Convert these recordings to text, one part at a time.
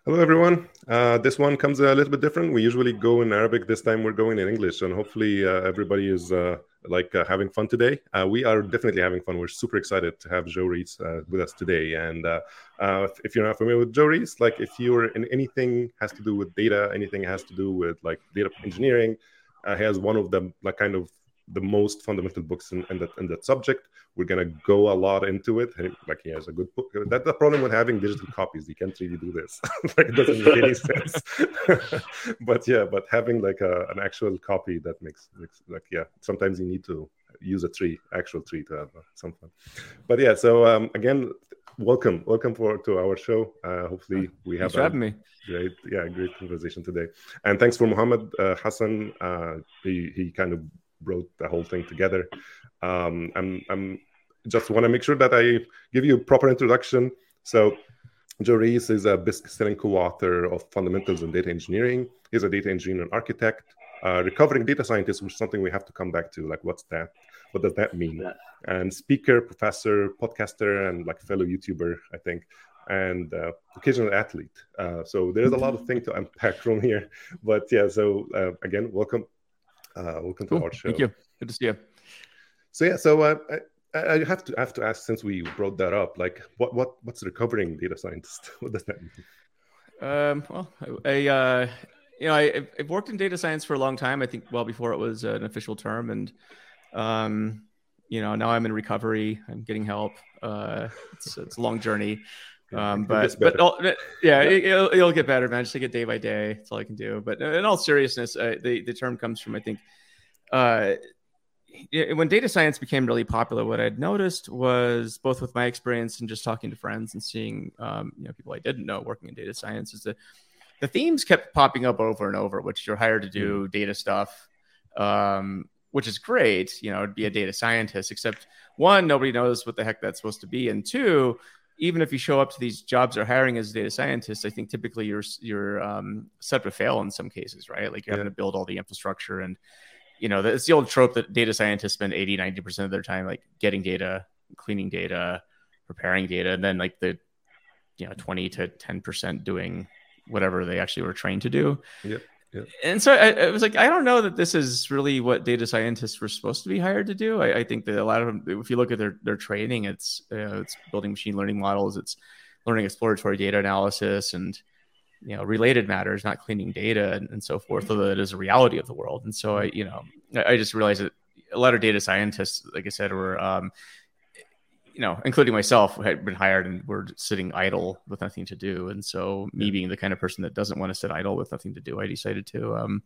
Hello, everyone. This one comes a little bit different. We usually go in Arabic. This time we're going in English, and hopefully everybody is having fun today. We are definitely having fun. We're super excited to have Joe Rees with us today. And if you're not familiar with Joe Rees, like if you're in anything has to do with data, anything has to do with like data engineering, he has one of the like kind of the most fundamental books in that subject. We're gonna go a lot into it. And, like he has a good book. That's the problem with having digital copies. You can't really do this. Like it doesn't make any sense. but having like an actual copy that makes like sometimes you need to use a actual tree to have some fun. But yeah, so again, welcome to our show. Hopefully we have Thanks for having me. Great conversation today. And thanks for Muhammad Hassan. He kind of brought the whole thing together. I'm just want to make sure that I give you a proper introduction. So Joe Rees is a best-selling co-author of Fundamentals in Data Engineering. He's a data engineer and architect, recovering data scientist, which is something we have to come back to. Like, what's that? What does that mean? Yeah. And speaker, professor, podcaster, and like fellow YouTuber, I think, and occasional athlete. So there's a lot of things to unpack from here. But yeah, so again, welcome. Welcome to our show. Thank you. Good to see you. So I have to ask, since we brought that up, like what's recovering data scientist? What does that mean? Well, I've worked in data science for a long time. I think well before it was an official term, and now I'm in recovery. I'm getting help. It's a long journey. But it'll get better, man. Just take it day by day. That's all I can do. But in all seriousness, the term comes from, I think, when data science became really popular, what I'd noticed was, both with my experience and just talking to friends and seeing people I didn't know working in data science, is that the themes kept popping up over and over, which you're hired to do data stuff, which is great, to be a data scientist, except one, nobody knows what the heck that's supposed to be. And two, even if you show up to these jobs or hiring as a data scientist, I think typically you're set to fail in some cases, right? Like you're having to build all the infrastructure, and it's the old trope that data scientists spend 80-90% of their time like getting data, cleaning data, preparing data, and then like the 20 to 10% doing whatever they actually were trained to do. Yep. And so I was like, I don't know that this is really what data scientists were supposed to be hired to do. I think that a lot of them, if you look at their training, it's building machine learning models, it's learning exploratory data analysis, and related matters, not cleaning data and so forth, although it is a reality of the world. And so I just realized that a lot of data scientists, like I said, were including myself, had been hired and were sitting idle with nothing to do. And so me being the kind of person that doesn't want to sit idle with nothing to do, I decided to,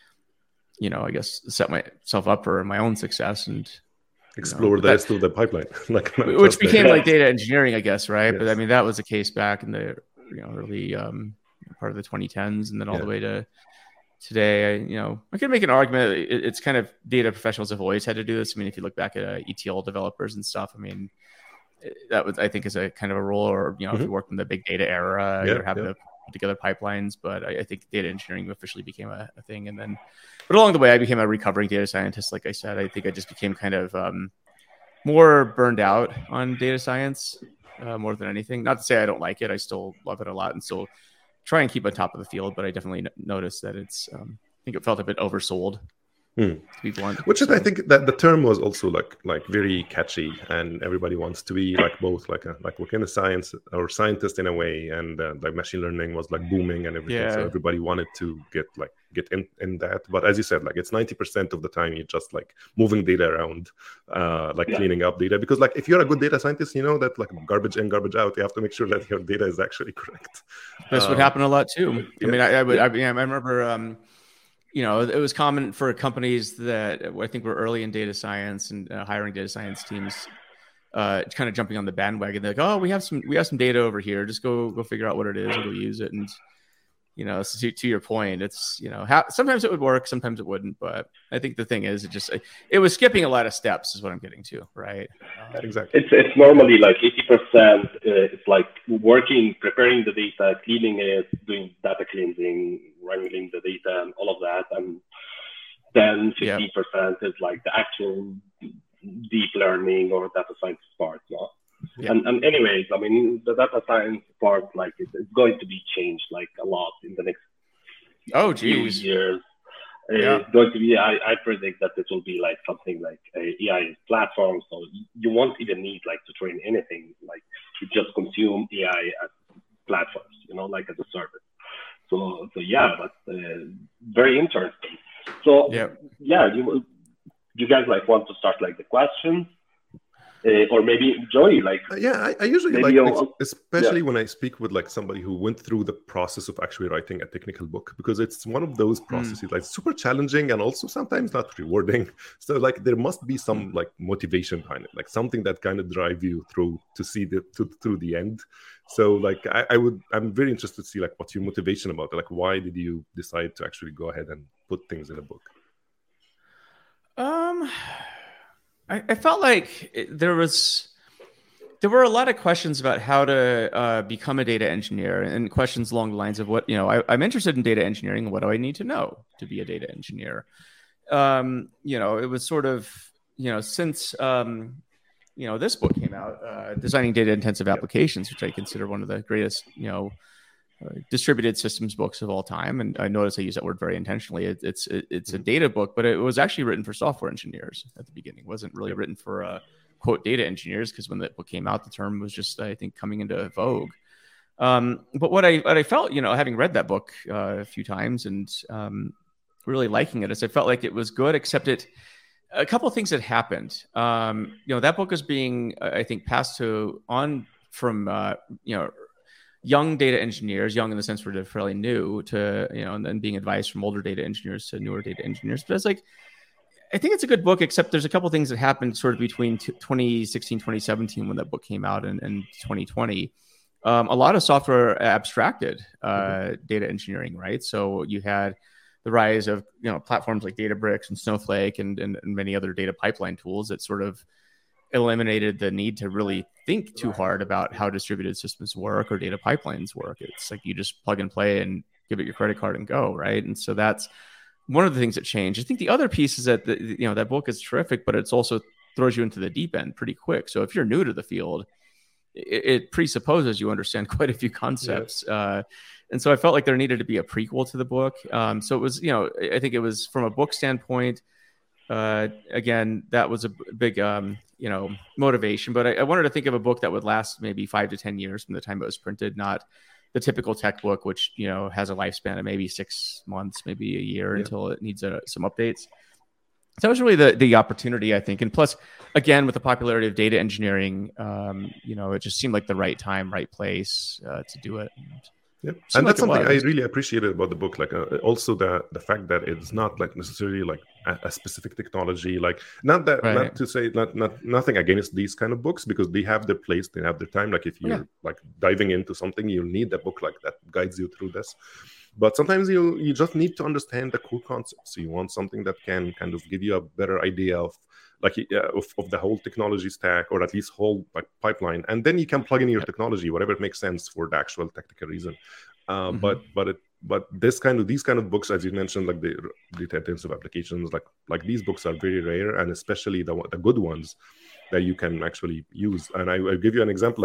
I guess, set myself up for my own success and explore the rest of the pipeline, which became like data engineering, I guess. Right. Yes. But I mean, that was the case back in the, early part of the 2010s, and then all the way to today. I could make an argument. It's kind of data professionals have always had to do this. I mean, if you look back at ETL developers and stuff, I mean, that was, I think, is a kind of a role, or if you work in the big data era, you're having to put together pipelines. But I think data engineering officially became a thing, and then, but along the way, I became a recovering data scientist. Like I said, I think I just became kind of more burned out on data science more than anything. Not to say I don't like it; I still love it a lot, and still try and keep on top of the field. But I definitely noticed that it's, I think it felt a bit oversold. To be blunt. Which is, I think that the term was also like very catchy, and everybody wants to be like both like working in science or scientist in a way, and like machine learning was like booming and everything. So everybody wanted to get in that. But as you said, like it's 90% of the time you're just like moving data around, cleaning up data. Because like if you're a good data scientist, you know that like garbage in, garbage out, you have to make sure that your data is actually correct. This would happen a lot too. I mean, I remember. It was common for companies that I think were early in data science and hiring data science teams, kind of jumping on the bandwagon. They're like, "Oh, we have some data over here. Just go figure out what it is and go use it." And so to your point, it's sometimes it would work, sometimes it wouldn't. But I think the thing is, it was skipping a lot of steps, is what I'm getting to, right? Exactly. It's normally like 80%. It's like preparing the data, cleaning it, doing data cleansing, wrangling the data, and all of that, and then 50% is like the actual deep learning or data science part. No? And anyways, I mean, the data science part, like it's going to be changed like a lot in the next few years. It's going to be, I predict that it will be like something like a AI platform. So you won't even need like to train anything. Like you just consume AI as platforms, like as a service. So yeah, but very interesting. So you guys like want to start like the questions? Or maybe Joey, like I usually like, especially when I speak with like somebody who went through the process of actually writing a technical book, because it's one of those processes like super challenging and also sometimes not rewarding. So like there must be some like motivation behind it, like something that kind of drive you through to see through the end. So like I'm very interested to see like what's your motivation about it. Like why did you decide to actually go ahead and put things in a book? I felt like there were a lot of questions about how to become a data engineer, and questions along the lines of what, I'm interested in data engineering. What do I need to know to be a data engineer? It was sort of, since, this book came out, Designing Data Intensive Applications, which I consider one of the greatest, distributed systems books of all time. And I notice I use that word very intentionally. It's a data book, but it was actually written for software engineers at the beginning. It wasn't really written for quote data engineers, because when the book came out, the term was just, I think, coming into vogue. But what I felt, having read that book a few times and really liking it, is I felt like it was good, except a couple of things had happened. That book is being, I think, passed on from young data engineers, young in the sense they're fairly new, to, and then being advised from older data engineers to newer data engineers. But it's like, I think it's a good book, except there's a couple of things that happened sort of between 2016, 2017, when that book came out, and 2020. A lot of software abstracted data engineering, right? So you had the rise of, platforms like Databricks and Snowflake and many other data pipeline tools that sort of eliminated the need to really think too hard about how distributed systems work or data pipelines work. It's like you just plug and play and give it your credit card and go, right? And so that's one of the things that changed. I think the other piece is that that book is terrific, but it's also throws you into the deep end pretty quick. So if you're new to the field, it presupposes you understand quite a few concepts. And so I felt like there needed to be a prequel to the book. So it was, I think it was from a book standpoint. Again, that was a big, motivation. But I wanted to think of a book that would last maybe 5 to 10 years from the time it was printed, not the typical tech book, which, has a lifespan of maybe 6 months, maybe a year until it needs some updates. So that was really the opportunity, I think. And plus, again, with the popularity of data engineering, it just seemed like the right time, right place to do it. Yeah, and that's something I really appreciated about the book. Like also the fact that it's not like necessarily like a specific technology. Like not to say nothing against these kind of books, because they have their place, they have their time. Like if you're like diving into something, you need a book like that guides you through this. But sometimes you just need to understand the core concepts. You want something that can kind of give you a better idea of like of the whole technology stack, or at least whole like pipeline, and then you can plug in your technology, whatever makes sense for the actual technical reason. But these kind of books, as you mentioned, like the data intensive applications, like these books are very rare, and especially the good ones that you can actually use. And I'll give you an example.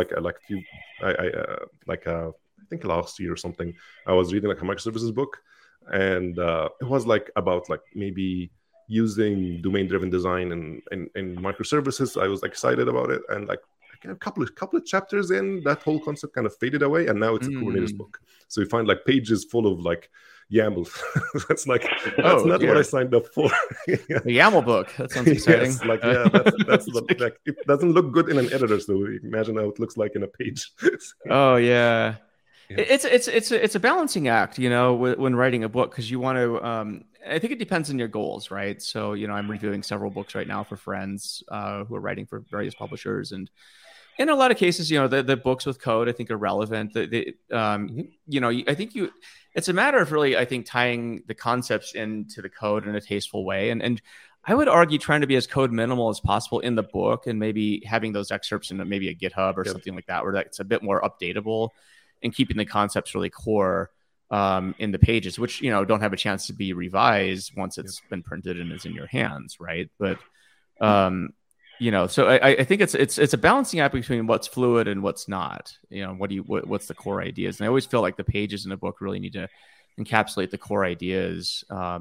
I think last year or something, I was reading like a microservices book, and it was like about like maybe using domain-driven design and microservices. I was excited about it, and like a couple of chapters in, that whole concept kind of faded away, and now it's a Kubernetes book. So you find like pages full of like YAML. That's like that's not what I signed up for. The YAML book. That sounds exciting. Yes, that's like it doesn't look good in an editor, so imagine how it looks like in a page. Oh yeah. It's a balancing act, when writing a book, because you want to. I think it depends on your goals, right? So I'm reviewing several books right now for friends who are writing for various publishers, and in a lot of cases, the books with code I think are relevant. I think it's a matter of really, I think, tying the concepts into the code in a tasteful way, and I would argue trying to be as code minimal as possible in the book, and maybe having those excerpts in maybe a GitHub or something like that, where that's a bit more updatable, and keeping the concepts really core in the pages, which don't have a chance to be revised once it's been printed and is in your hands, right? But so I think it's a balancing act between what's fluid and what's not. What's the core ideas? And I always feel like the pages in a book really need to encapsulate the core ideas.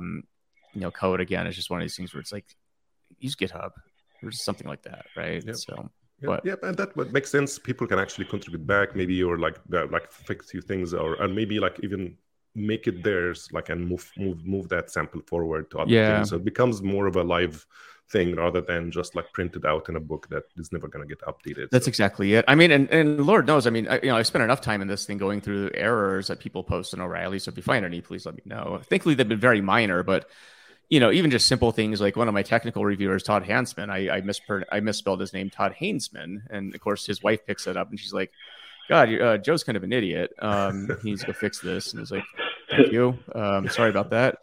Code again is just one of these things where it's like use GitHub or something like that, right? Yep. So, and that would make sense. People can actually contribute back, maybe, or like fix few things, or maybe like even make it theirs, like, and move that sample forward to other things. So it becomes more of a live thing rather than just like printed out in a book that is never going to get updated. That's exactly it. I mean, and Lord knows, I mean, I've spent enough time in this thing going through errors that people post in O'Reilly. So if you find any, please let me know. Thankfully, they've been very minor, but even just simple things like one of my technical reviewers, Todd Hansman, I misspelled his name, Todd Hainsman, and of course his wife picks it up and she's like, "God, Joe's kind of an idiot. He needs to go fix this." And it's like, "Thank you. Sorry about that."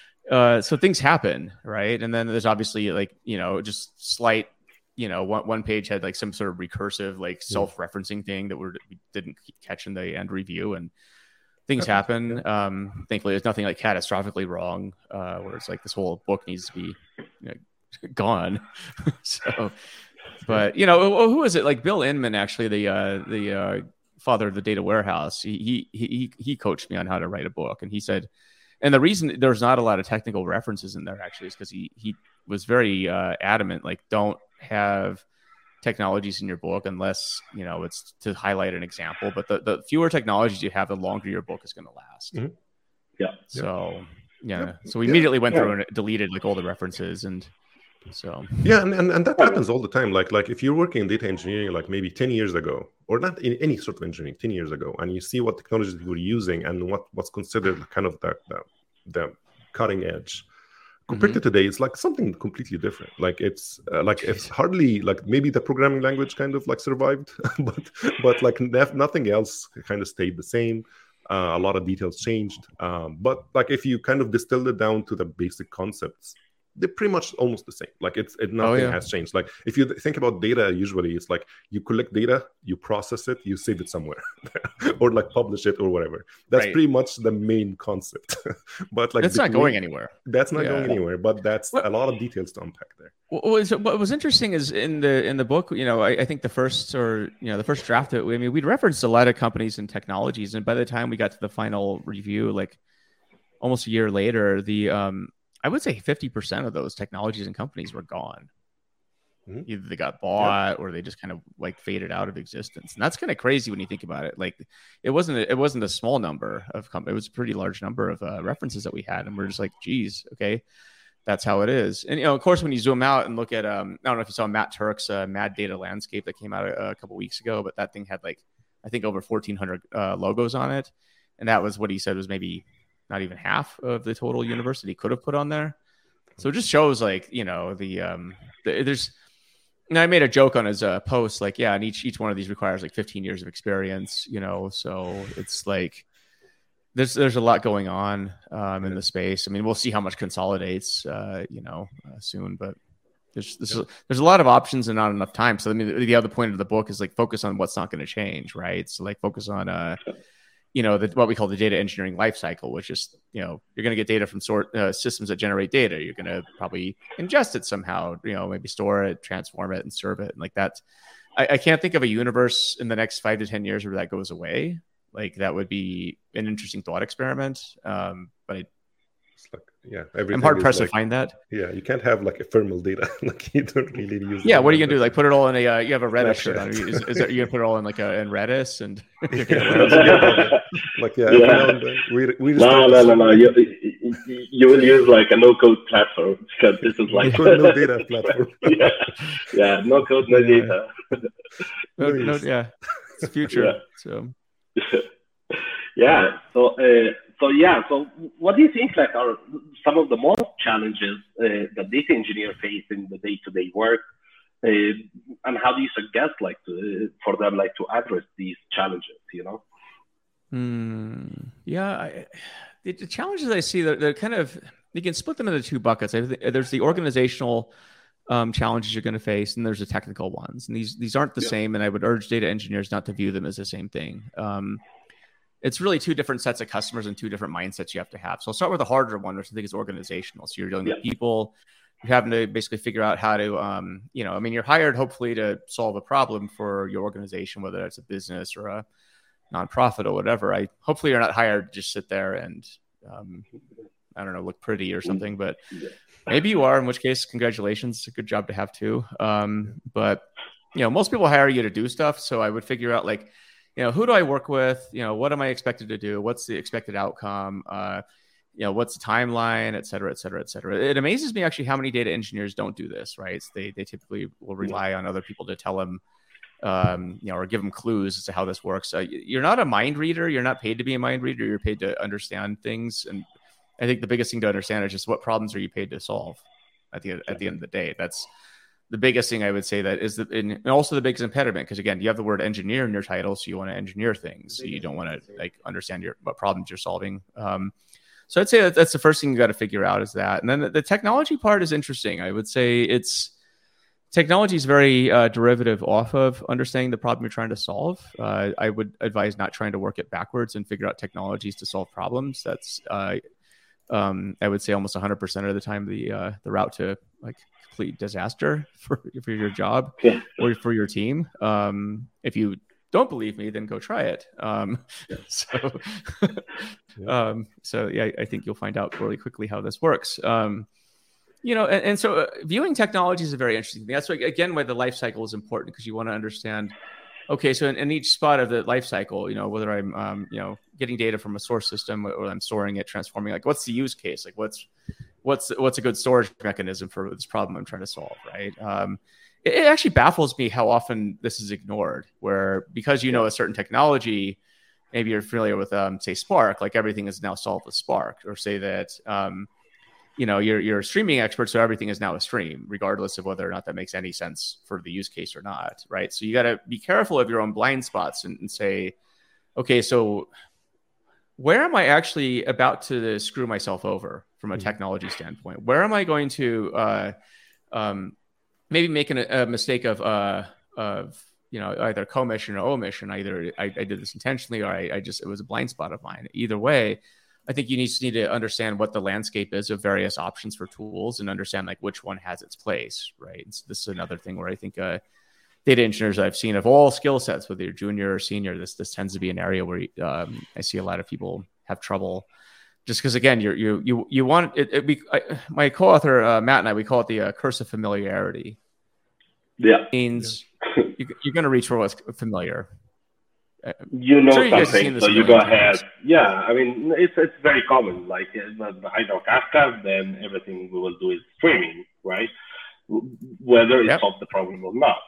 So things happen, right? And then there's obviously like, just slight, one page had like some sort of recursive, like self-referencing thing that we didn't catch in the end review, and things happen. Thankfully, there's nothing like catastrophically wrong, where it's like this whole book needs to be gone. So, but who is it? Like Bill Inman, actually, the father of the data warehouse. He coached me on how to write a book, and he said. And the reason there's not a lot of technical references in there actually is because he was very adamant, like, don't have technologies in your book unless, it's to highlight an example. But the fewer technologies you have, the longer your book is going to last. Mm-hmm. Yeah. So, So we immediately went through and deleted like all the references. And so. Yeah. And that happens all the time. Like if you're working in data engineering, like maybe 10 years ago, or not in any sort of engineering, 10 years ago, and you see what technologies you were using and what's considered kind of the cutting edge. Compared to today, it's like something completely different. Like it's hardly like maybe the programming language kind of like survived, but like nothing else kind of stayed the same. A lot of details changed. But like if you kind of distill it down to the basic concepts, they're pretty much almost the same. Like nothing has changed. Like if you think about data, usually it's like you collect data, you process it, you save it somewhere, or like publish it or whatever. That's pretty much the main concept. But like that's not going anywhere. That's not going anywhere. But that's a lot of details to unpack there. What was interesting is in the book, I think the first draft of it, we'd referenced a lot of companies and technologies, and by the time we got to the final review, like almost a year later, I would say 50% of those technologies and companies were gone. Mm-hmm. Either they got bought or they just kind of like faded out of existence. And that's kind of crazy when you think about it. Like it wasn't a small number of companies. It was a pretty large number of references that we had. And we're just like, geez, okay, that's how it is. And, of course, when you zoom out and look at, I don't know if you saw Matt Turk's Mad Data Landscape that came out a couple weeks ago, but that thing had like, I think over 1,400 logos on it. And that was what he said was maybe not even half of the total universe that he could have put on there. So it just shows like, there's, and I made a joke on his post, like, and each one of these requires like 15 years of experience, so it's like, there's a lot going on in the space. I mean, we'll see how much consolidates, soon, but there's a lot of options and not enough time. So I mean, the other point of the book is like focus on what's not going to change, right? So like focus on, what we call the data engineering lifecycle, which is, you're going to get data from systems that generate data. You're going to probably ingest it somehow, maybe store it, transform it, and serve it. And like that, I can't think of a universe in the next 5 to 10 years where that goes away. Like that would be an interesting thought experiment. But I'm hard pressed to find that. Yeah, you can't have like ephemeral data. Like you don't really use. Yeah, what are you gonna do? Like put it all in a? You have a Redis shirt on. Is that you gonna put it all in like in Redis and? Like we just no. You will use like a no-code platform because this is like no data platform. No code, no data. It's the future. So. So what do you think like are some of the most challenges that data engineers face in the day-to-day work, and how do you suggest like for them like to address these challenges? The challenges I see, they're kind of, you can split them into two buckets. There's the organizational challenges you're going to face, and there's the technical ones. And these aren't the same, and I would urge data engineers not to view them as the same thing. It's really two different sets of customers and two different mindsets you have to have. So I'll start with the harder one, which I think is organizational. So you're dealing with people, having to basically figure out how to, you're hired hopefully to solve a problem for your organization, whether that's a business or a nonprofit or whatever. Hopefully you're not hired to just sit there and, look pretty or something, but maybe you are, in which case, congratulations. It's a good job to have too. But most people hire you to do stuff. So I would figure out who do I work with? What am I expected to do? What's the expected outcome? What's the timeline, et cetera, et cetera, et cetera. It amazes me actually how many data engineers don't do this, right? So they typically will rely on other people to tell them, or give them clues as to how this works. You're not a mind reader. You're not paid to be a mind reader. You're paid to understand things. And I think the biggest thing to understand is just what problems are you paid to solve at the end of the day. That's the biggest thing I would say that is and also the biggest impediment, because again, you have the word engineer in your title, so you want to engineer things. So you don't want to understand what problems you're solving. So I'd say that's the first thing you got to figure out is that. And then the technology part is interesting. I would say technology is very derivative off of understanding the problem you're trying to solve. I would advise not trying to work it backwards and figure out technologies to solve problems. That's I would say almost 100% of the time the route to complete disaster for your job or for your team. If you don't believe me, then go try it. So I think you'll find out really quickly how this works. So viewing technology is a very interesting thing. That's why the life cycle is important, because you want to understand, okay, so in each spot of the life cycle, whether I'm, getting data from a source system or I'm storing it, transforming, what's the use case? What's a good storage mechanism for this problem I'm trying to solve, right? It actually baffles me how often this is ignored, where because a certain technology, maybe you're familiar with, say, Spark, everything is now solved with Spark, or say that, you're a streaming expert, so everything is now a stream, regardless of whether or not that makes any sense for the use case or not, right? So you got to be careful of your own blind spots and say, okay, so where am I actually about to screw myself over from a technology standpoint? Where am I going to maybe making a mistake of either commission or omission? Either I did this intentionally, or it was a blind spot of mine. Either way, I think you need to understand what the landscape is of various options for tools and understand which one has its place, right? And so this is another thing where I think data engineers I've seen of all skill sets, whether you're junior or senior, this tends to be an area where I see a lot of people have trouble. Just because, again, you want it. My co-author Matt and I, we call it the curse of familiarity. Yeah, it means you're going to reach for what's familiar. Something, so you go ahead. Yeah, I mean, it's very common. I know Kafka, then everything we will do is streaming, right? Whether it solves the problem or not.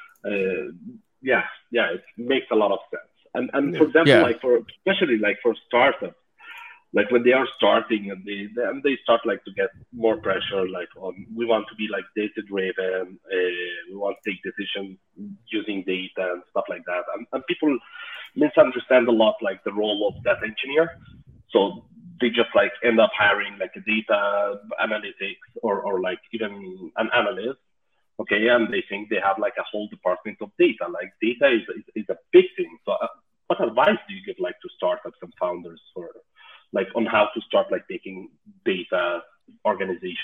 It makes a lot of sense. And for example, especially for startups, when they are starting and they start to get more pressure, we want to be data driven, we want to take decisions using data and stuff like that. And people misunderstand a lot the role of data engineer. So they just end up hiring a data analytics or even an analyst. Okay, and they think they have a whole department of data. Data is a big thing. So what advice do you give to startups and founders for on how to start taking data organization?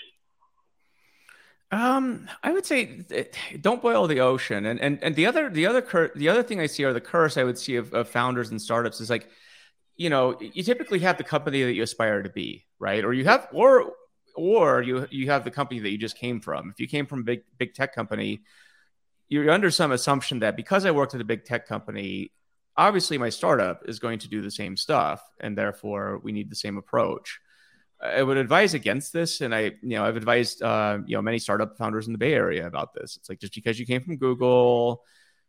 I would say don't boil the ocean. And the other thing I see, or the curse I would see of founders and startups, is you typically have the company that you aspire to be, right? Or you have you have the company that you just came from. If you came from a big tech company, you're under some assumption that because I worked at a big tech company, obviously my startup is going to do the same stuff, and therefore we need the same approach. I would advise against this, and I've advised many startup founders in the Bay Area about this. It's just because you came from Google,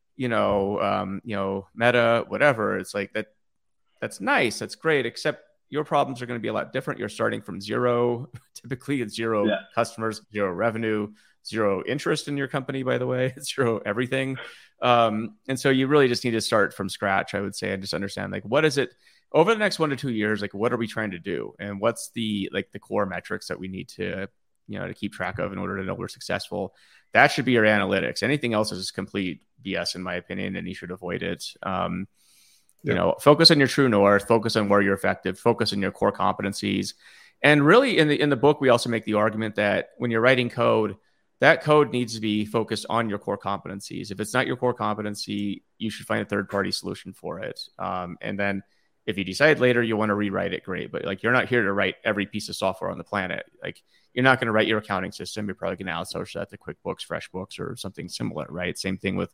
Meta, whatever. It's that's nice, that's great, except your problems are going to be a lot different. You're starting from zero. Typically, it's zero customers, zero revenue, zero interest in your company, by the way, zero everything. And so you really just need to start from scratch, I would say, and just understand what is it over the next 1 to 2 years, what are we trying to do? And what's the core metrics that we need to keep track of in order to know we're successful? That should be your analytics. Anything else is complete BS, in my opinion, and you should avoid it. Focus on your true north, focus on where you're effective, focus on your core competencies, And really in the book, we also make the argument that when you're writing code, that code needs to be focused on your core competencies. If it's not your core competency, you should find a third-party solution for it. And then if you decide later you want to rewrite it, great. But like, you're not here to write every piece of software on the planet. Like, you're not going to write your accounting system. You're probably going to outsource that to QuickBooks, FreshBooks, or something similar, right? Same thing with,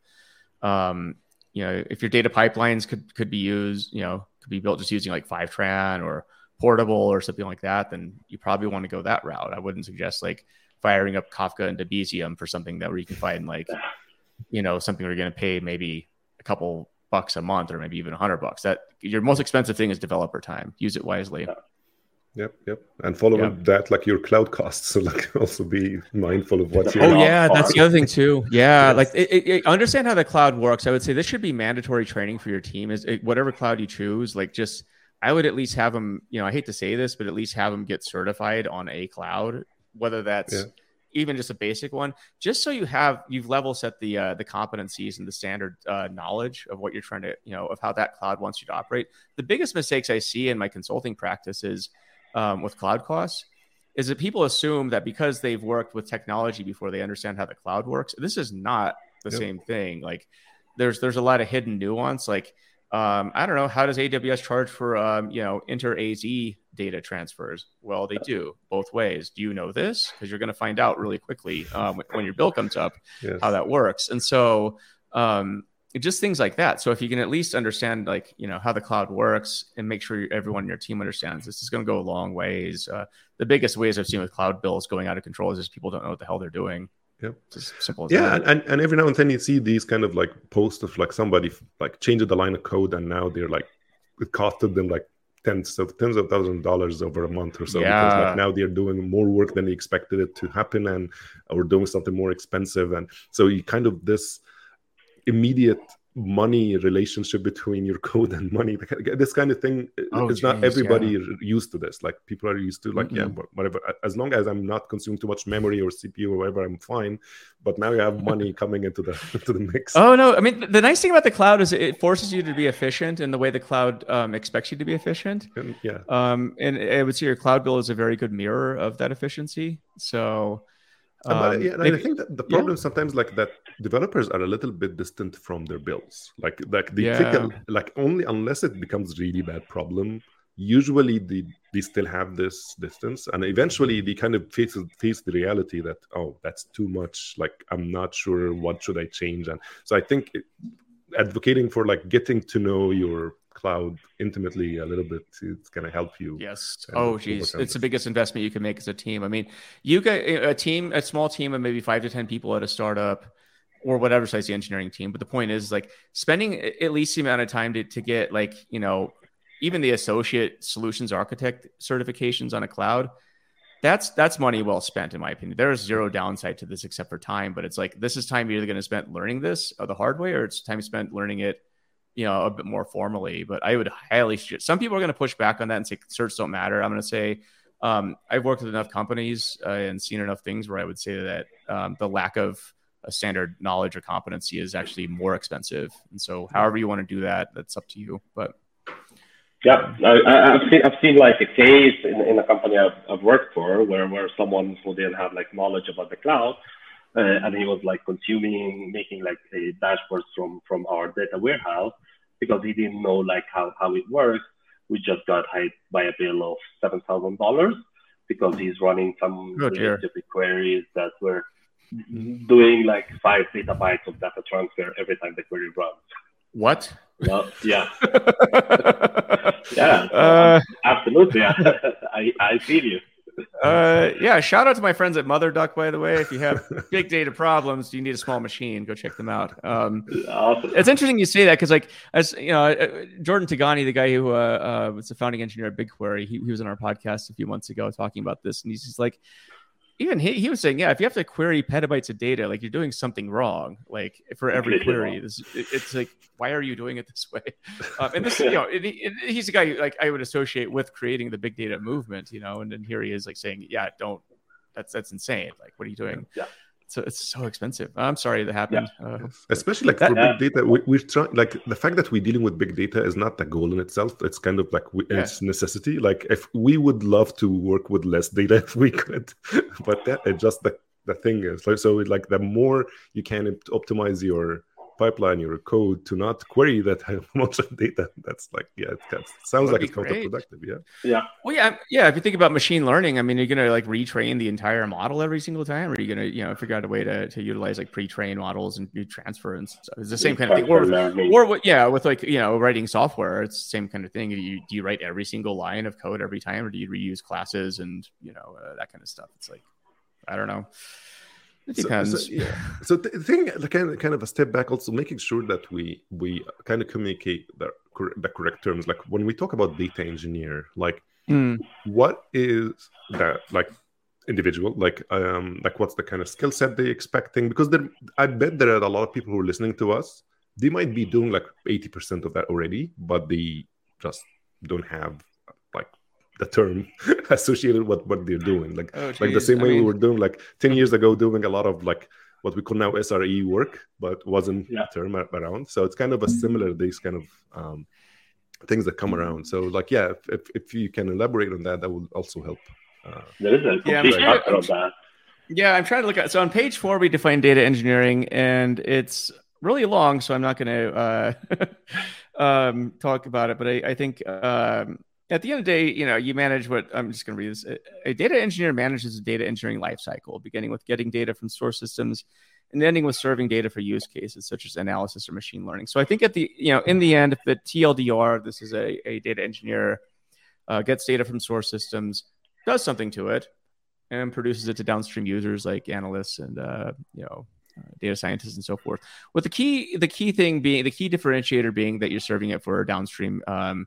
if your data pipelines could be used, could be built just using like Fivetran or Portable or something like that, then you probably want to go that route. I wouldn't suggest like firing up Kafka and Debezium for something that where you can find like, something where you're going to pay maybe a couple bucks a month or maybe even $100. That your most expensive thing is developer time. Use it wisely. Yep. And follow that, like your cloud costs. So like also be mindful of what's your. Oh yeah, that's the other thing too. Yeah, yes. Like understand how the cloud works. I would say this should be mandatory training for your team. Whatever cloud you choose, like just I would at least have them. I hate to say this, but at least have them get certified on a cloud, whether that's even just a basic one, just so you've level set the competencies and the standard knowledge of what you're trying to of how that cloud wants you to operate. The biggest mistakes I see in my consulting practice is. With cloud costs is that people assume that because they've worked with technology before, they understand how the cloud works. This is not the same thing. Like there's a lot of hidden nuance. Like, I don't know, how does AWS charge for, inter-AZ data transfers? Well, they do both ways. Do you know this? Because you're going to find out really quickly when your bill comes up, how that works. And so, just things like that. So if you can at least understand, like, how the cloud works and make sure everyone in your team understands, this is going to go a long ways. The biggest ways I've seen with cloud bills going out of control is just people don't know what the hell they're doing. Yep. It's as simple as that. And every now and then you see these kind of like posts of like somebody like changed the line of code and now they're like, it costed them like tens of $1,000s over a month or so. Because like now they're doing more work than they expected it to happen and or doing something more expensive. And so you kind of this immediate money relationship between your code and money, this kind of thing is not everybody used to this. Like people are used to like whatever, as long as I'm not consuming too much memory or CPU or whatever, I'm fine. But now you have money coming into the mix. Oh no, I mean the nice thing about the cloud is it forces you to be efficient in the way the cloud expects you to be efficient. And I would say your cloud bill is a very good mirror of that efficiency. So and I think that the problem sometimes like that developers are a little bit distant from their bills. Like they think like only unless it becomes really bad problem. Usually they still have this distance, and eventually they kind of face the reality that that's too much. Like I'm not sure what should I change, and so I think advocating for like getting to know your cloud intimately a little bit, it's going to help you. Yes. Oh geez, it's the biggest investment you can make as a team. I mean, you get a small team of maybe 5 to 10 people at a startup or whatever size the engineering team. But the point is like spending at least the amount of time to get like, even the associate solutions architect certifications on a cloud, that's money well spent, in my opinion. There is zero downside to this except for time, but it's like, this is time you're either going to spend learning this the hard way, or it's time spent learning it a bit more formally. But I would highly suggest, some people are going to push back on that and say certs don't matter. I'm going to say I've worked with enough companies and seen enough things where I would say that the lack of a standard knowledge or competency is actually more expensive. And so however you want to do that, that's up to you. But I've seen like a case in a company I've worked for where someone who didn't have like knowledge about the cloud, and he was like making like a dashboards from our data warehouse because he didn't know like how it works. We just got hit by a bill of $7,000 because he's running some queries that were doing like 5 petabytes of data transfer every time the query runs. What? Well, yeah. Absolutely. I feel you. Shout out to my friends at MotherDuck, by the way. If you have big data problems, you need a small machine, go check them out. Awesome. It's interesting you say that because, like, as you know, Jordan Tigani, the guy who was the founding engineer at BigQuery, he was on our podcast a few months ago talking about this, and he's just like, even he was saying, if you have to query petabytes of data, like you're doing something wrong. Like for every query, it's like, why are you doing it this way? And this, he's a guy like I would associate with creating the big data movement, and then here he is like saying, don't. That's insane. Like, what are you doing? Yeah. it's so expensive. I'm sorry that happened. Especially like for big data, we're trying, like the fact that we're dealing with big data is not the goal in itself. It's kind of like it's necessity. Like if we would love to work with less data if we could, but that it's just the thing is like, so like the more you can optimize your pipeline, your code to not query that much of data, that's like it sounds like it's counterproductive. Well, if you think about machine learning, I mean, you're gonna like retrain the entire model every single time, or you're gonna figure out a way to utilize like pre-trained models and do transfer and stuff. It's the same kind of thing. Or with like writing software, it's the same kind of thing. Do you write every single line of code every time, or do you reuse classes and that kind of stuff? It's like, I don't know. It depends. So the thing, kind of a step back, also making sure that we kind of communicate the correct terms. Like when we talk about data engineer, like what is that like individual? Like what's the kind of skill set they expecting? Because I bet there are a lot of people who are listening to us. They might be doing like 80% of that already, but they just don't have like the term associated with what they're doing, like the same way we were doing like 10 years ago, doing a lot of like what we call now SRE work, but wasn't a term around. So it's kind of a similar these kind of things that come around. So like if you can elaborate on that will also help. There is a complete chapter of that. Yeah, I'm trying to look at. So on page 4 we define data engineering, and it's really long, so I'm not going to talk about it. But I think. At the end of the day, you manage what I'm just going to read this. A data engineer manages a data engineering lifecycle, beginning with getting data from source systems and ending with serving data for use cases such as analysis or machine learning. So I think at the, in the end, if the TLDR, this is a data engineer, gets data from source systems, does something to it, and produces it to downstream users like analysts and, data scientists and so forth. With the key differentiator being that you're serving it for a downstream,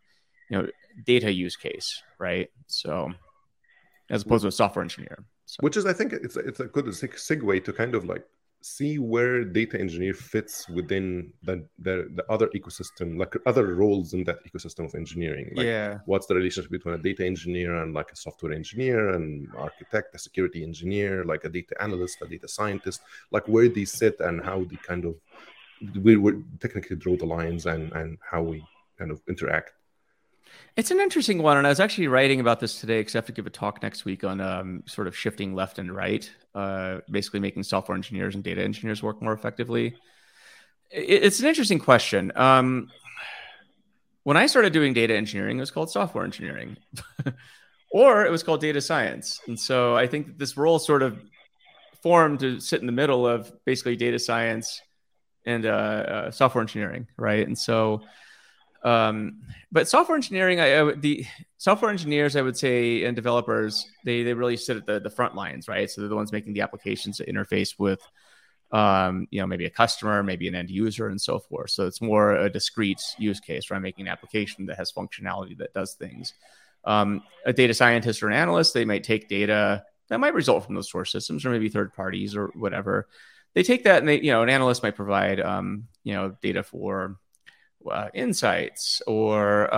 data use case, right? So as opposed to a software engineer. So. Which is, I think it's a good segue to kind of like see where data engineer fits within the other ecosystem, like other roles in that ecosystem of engineering. Like what's the relationship between a data engineer and like a software engineer and architect, a security engineer, like a data analyst, a data scientist, like where they sit and how they kind of, we would technically draw the lines and how we kind of interact. It's an interesting one, and I was actually writing about this today because I have to give a talk next week on sort of shifting left and right, basically making software engineers and data engineers work more effectively. It's an interesting question. When I started doing data engineering, it was called software engineering, or it was called data science. And so I think that this role sort of formed to sit in the middle of basically data science and software engineering, right? And so... but software engineering, the software engineers, I would say, and developers, they really sit at the front lines, right? So they're the ones making the applications that interface with, maybe a customer, maybe an end user, and so forth. So it's more a discrete use case, right? Making an application that has functionality that does things. A data scientist or an analyst, they might take data that might result from those source systems or maybe third parties or whatever. They take that and an analyst might provide, data for insights or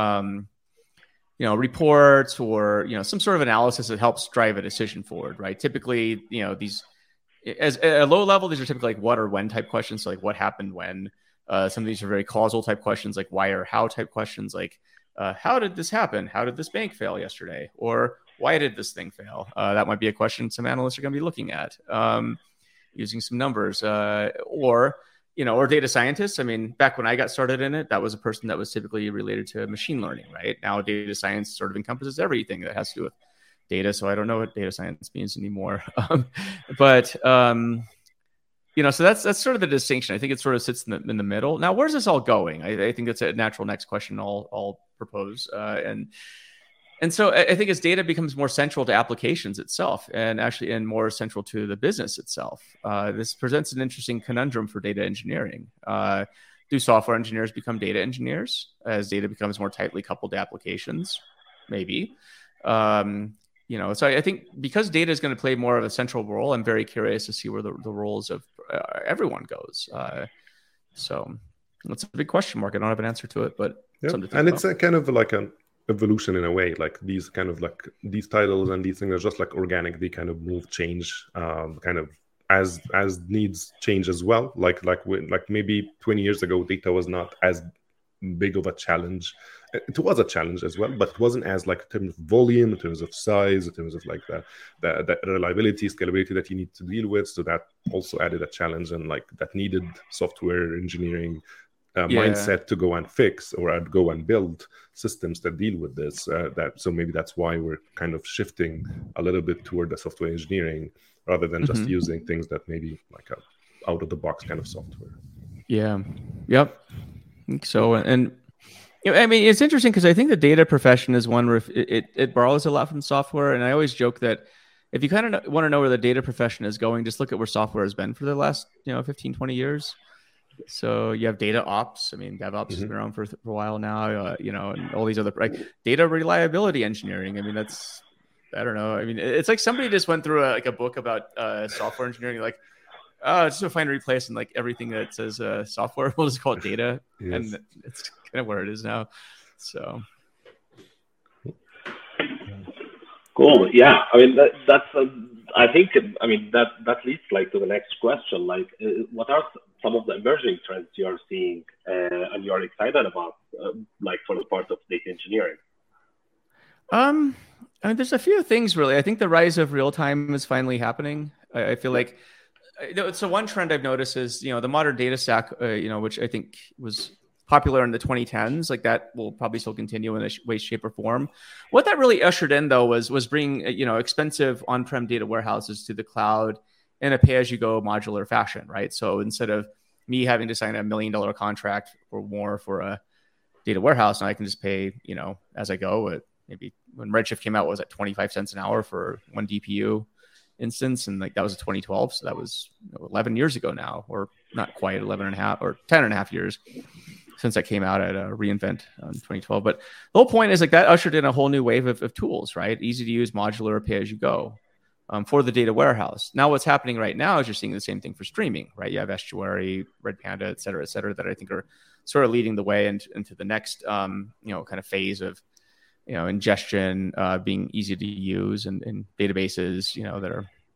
reports or some sort of analysis that helps drive a decision forward, right? Typically, these as at a low level, these are typically like what or when type questions, so like what happened when. Some of these are very causal type questions, like why or how type questions, like how did this happen? How did this bank fail yesterday? Or why did this thing fail? That might be a question some analysts are going to be looking at using some numbers or data scientists. I mean, back when I got started in it, that was a person that was typically related to machine learning, right? Now data science sort of encompasses everything that has to do with data. So I don't know what data science means anymore. So that's sort of the distinction. I think it sort of sits in the middle. Now, where's this all going? I think that's a natural next question I'll propose. And so I think as data becomes more central to applications itself and more central to the business itself, this presents an interesting conundrum for data engineering. Do software engineers become data engineers as data becomes more tightly coupled to applications? Maybe. So I think because data is going to play more of a central role, I'm very curious to see where the roles of everyone goes. So that's a big question mark. I don't have an answer to it, but something to think about. It's a kind of like an evolution in a way. Like these kind of like these titles and these things are just like organic. They kind of change kind of as needs change as well. Like maybe 20 years ago, data was not as big of a challenge. It was a challenge as well, but it wasn't as like in terms of volume, in terms of size, in terms of like the reliability, scalability that you need to deal with. So that also added a challenge, and like that needed software engineering mindset to go and fix or go and build systems that deal with this. So maybe that's why we're kind of shifting a little bit toward the software engineering rather than just using things that maybe like a out of the box kind of software. Yeah. Yep. I think so. And I mean, it's interesting because I think the data profession is one where it borrows a lot from software. And I always joke that if you kind of want to know where the data profession is going, just look at where software has been for the last 15, 20 years. So you have data ops. I mean, DevOps has been around for a while now, and all these other data reliability engineering. I mean, that's, I don't know. I mean, it's like somebody just went through a book about software engineering, like, just to find and replace and like everything that says software, we'll just call it data. Yes. And it's kind of where it is now. So. Cool. Yeah. I mean, I think that leads like to the next question. Like, what are some of the emerging trends you are seeing and you are excited about, like for the part of data engineering? I mean, there's a few things really. I think the rise of real time is finally happening. I feel like, so one trend I've noticed is, the modern data stack, which I think was popular in the 2010s, like that will probably still continue in a way, shape, or form. What that really ushered in though was bringing expensive on-prem data warehouses to the cloud in a pay-as-you-go modular fashion, right? So instead of me having to sign $1 million contract or more for a data warehouse, now I can just pay, as I go. Maybe when Redshift came out, was at 25 cents an hour for one DPU instance, and like that was 2012, so that was 11 years ago now, or not quite 11 and a half or 10 and a half years since I came out at reInvent in 2012. But the whole point is like that ushered in a whole new wave of tools, right? Easy to use, modular, pay as you go for the data warehouse. Now what's happening right now is you're seeing the same thing for streaming, right? You have Estuary, Redpanda, et cetera, that I think are sort of leading the way into the next kind of phase of ingestion being easy to use and databases that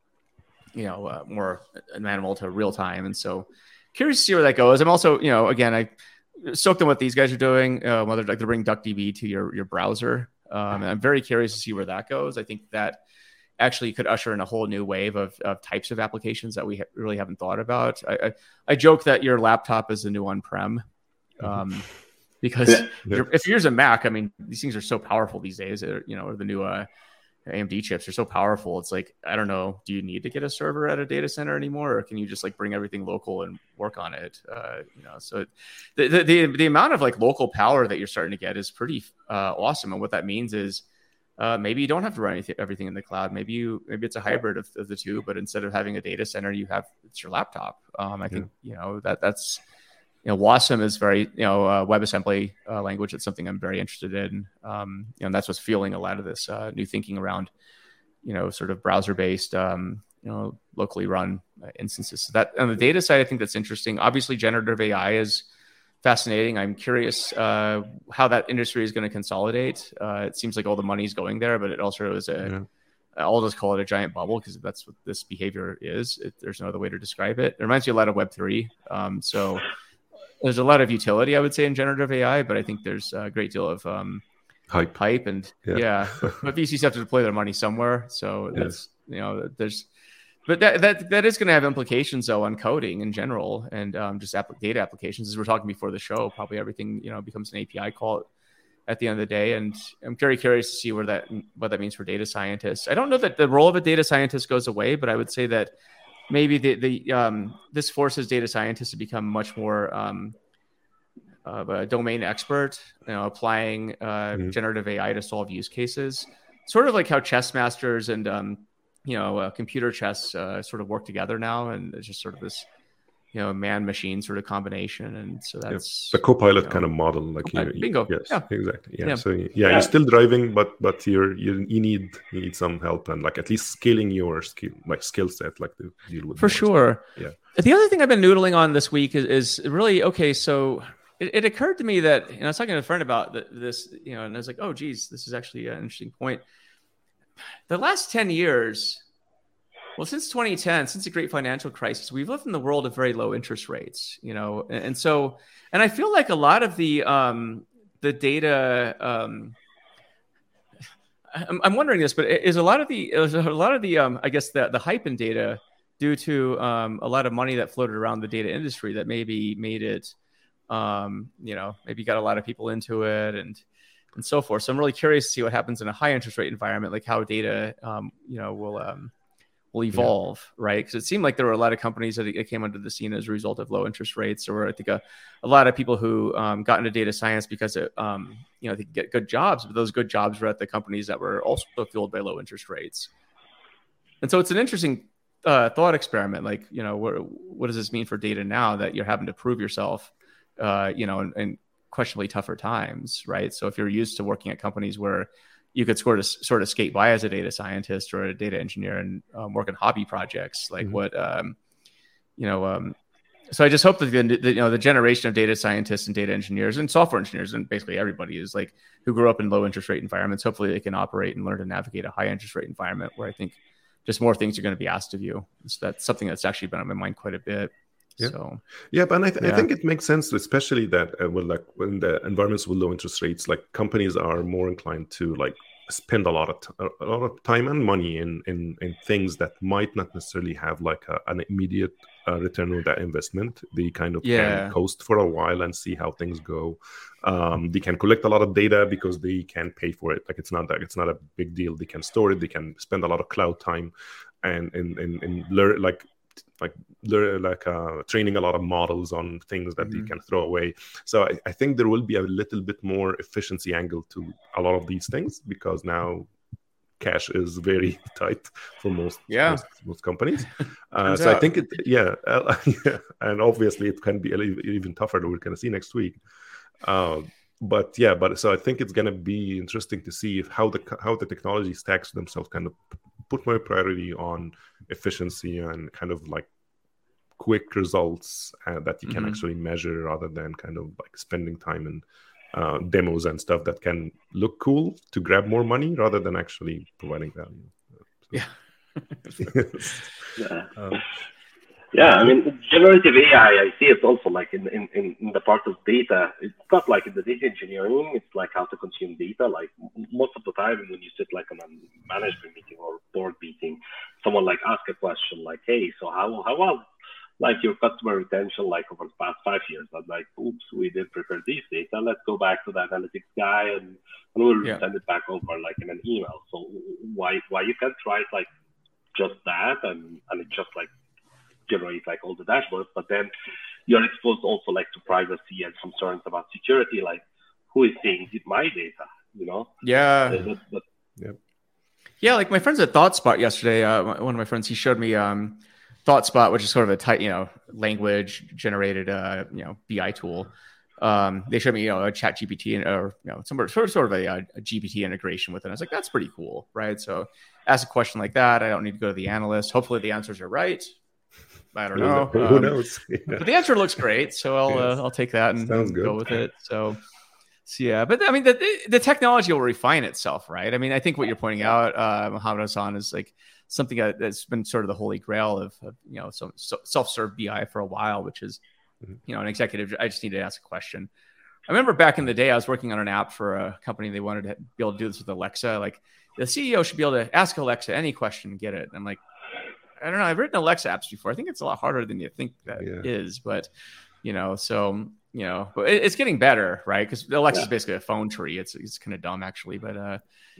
are more amenable to real time. And so curious to see where that goes. I'm also again, I stoked on what these guys are doing, whether like to bring DuckDB to your browser. And I'm very curious to see where that goes. I think that actually could usher in a whole new wave of types of applications that we really haven't thought about. I joke that your laptop is the new on-prem. Because if you're a Mac, I mean, these things are so powerful these days, or the new AMD chips are so powerful. It's like, I don't know, do you need to get a server at a data center anymore? Or can you just like bring everything local and work on it? So the amount of like local power that you're starting to get is pretty awesome. And what that means is maybe you don't have to run everything in the cloud. Maybe it's a hybrid of the two, but instead of having a data center, it's your laptop. I think, that's, WASM is very, WebAssembly language. It's something I'm very interested in. And that's what's fueling a lot of this new thinking around, sort of browser-based, locally run instances. So that on the data side, I think that's interesting. Obviously, generative AI is fascinating. I'm curious how that industry is going to consolidate. It seems like all the money's going there, but it also is I'll just call it a giant bubble because that's what this behavior is. There's no other way to describe it. It reminds me a lot of Web3. So there's a lot of utility, I would say, in generative AI, but I think there's a great deal of hype and but VCs have to deploy their money somewhere. So that's but that is going to have implications though on coding in general and just data applications. As we're talking before the show, probably everything becomes an API call at the end of the day. And I'm very curious to see what that means for data scientists. I don't know that the role of a data scientist goes away, but I would say that maybe this forces data scientists to become much more of a domain expert, applying generative AI to solve use cases, sort of like how chess masters and computer chess sort of work together now, and it's just sort of this man-machine sort of combination. And so that's the Copilot kind of model, like bingo. Yes, exactly. So you're still driving, but you need some help and like at least scaling your skill set, like to deal with for sure. Yeah. The other thing I've been noodling on this week is really okay. So it occurred to me that I was talking to a friend about this, and I was like, oh geez, this is actually an interesting point. The last 10 years, Well, since 2010, since the great financial crisis, we've lived in the world of very low interest rates, and so, and I feel like a lot of the data, I'm wondering this, but is a lot of the I guess the hype in data due to a lot of money that floated around the data industry that maybe made it, maybe got a lot of people into it and so forth. So I'm really curious to see what happens in a high interest rate environment, like how data, will evolve, right? Because it seemed like there were a lot of companies that came onto the scene as a result of low interest rates. Or I think a lot of people who got into data science because they could get good jobs, but those good jobs were at the companies that were also fueled by low interest rates. And so it's an interesting thought experiment. Like, what does this mean for data now that you're having to prove yourself, in questionably tougher times, right? So if you're used to working at companies where you could sort of skate by as a data scientist or a data engineer and work on hobby projects, like so I just hope that the generation of data scientists and data engineers and software engineers and basically everybody is like who grew up in low interest rate environments. Hopefully they can operate and learn to navigate a high interest rate environment where I think just more things are going to be asked of you. So that's something that's actually been on my mind quite a bit. Yeah. So, but I think it makes sense, especially that when the environments with low interest rates, like companies are more inclined to like spend a lot of time and money in things that might not necessarily have like an immediate return on that investment. They kind of can coast for a while and see how things go. They can collect a lot of data because they can pay for it. Like it's not a big deal. They can store it. They can spend a lot of cloud time and learn training a lot of models on things that they can throw away. So I think there will be a little bit more efficiency angle to a lot of these things because now cash is very tight for most companies. So I think and obviously it can be even tougher that we're going to see next week. But so I think it's going to be interesting to see how the technology stacks themselves, kind of put more priority on efficiency and kind of like quick results that you can actually measure rather than kind of like spending time in demos and stuff that can look cool to grab more money rather than actually providing value. I mean, generative AI, I see it also like in the part of data. It's not like in the data engineering, it's like how to consume data. Like most of the time when you sit like on a management meeting or board meeting, someone like ask a question like, hey, so how was like your customer retention like over the past 5 years? I'm like, oops, we didn't prepare this data. Let's go back to the analytics guy and we'll send it back over like in an email. So why you can't write like just that and it just like generate like all the dashboards, but then you're exposed also like to privacy and concerns about security, like who is seeing my data, like my friends at ThoughtSpot yesterday, one of my friends, he showed me ThoughtSpot, which is sort of a tight language generated BI tool. They showed me a chat GPT or sort of a GPT integration with it. I was like, that's pretty cool, right? So ask a question like that, I don't need to go to the analyst. Hopefully the answers are right. I don't know. Who knows? But the answer looks great, so I'll take that and go with it. So but I mean, the technology will refine itself, right? I mean, I think what you're pointing out, Mohammed Hassan, is like something that's been sort of the holy grail of some self-serve BI for a while, which is an executive. I just need to ask a question. I remember back in the day, I was working on an app for a company. They wanted to be able to do this with Alexa. Like the CEO should be able to ask Alexa any question and get it. And I'm like, I don't know. I've written Alexa apps before. I think it's a lot harder than you think that is, but but it's getting better, right? Because Alexa is basically a phone tree. It's kind of dumb actually, but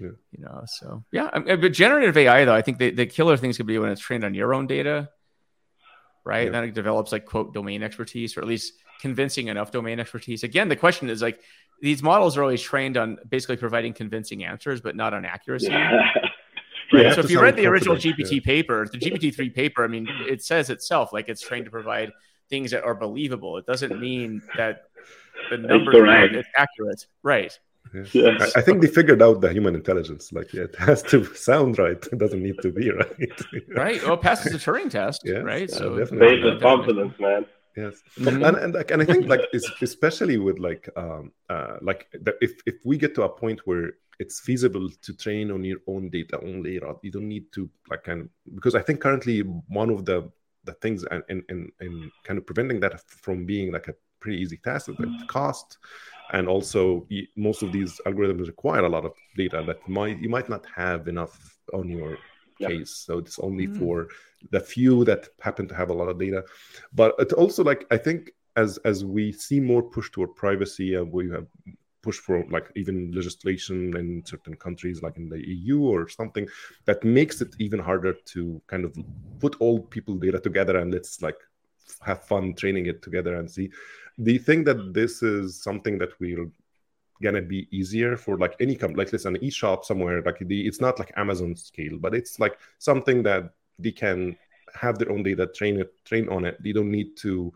but generative AI though, I think the killer things could be when it's trained on your own data, right? And then it develops like quote domain expertise, or at least convincing enough domain expertise. Again, the question is like these models are always trained on basically providing convincing answers, but not on accuracy. Right. So if you read the original GPT paper, the GPT-3 paper, I mean, it says itself, like it's trained to provide things that are believable. It doesn't mean that the numbers are accurate. Right. Yes. I think they figured out the human intelligence. Like it has to sound right. It doesn't need to be right. Right. Well, it passes the Turing test. Right. So definitely. Based on confidence, man. Yes, and I think like especially with if we get to a point where it's feasible to train on your own data only. You don't need to because I think currently one of the things and kind of preventing that from being like a pretty easy task is the cost, and also most of these algorithms require a lot of data that you might not have enough on your case. So it's only for the few that happen to have a lot of data. But it's also like, I think as we see more push toward privacy, and we have push for like even legislation in certain countries like in the EU or something, that makes it even harder to kind of put all people's data together and let's like have fun training it together and see. Do you think that this is something that we're gonna be easier for like any company, like let's an e-shop somewhere, like it's not like Amazon scale, but it's like something that they can have their own data, train on it. They don't need to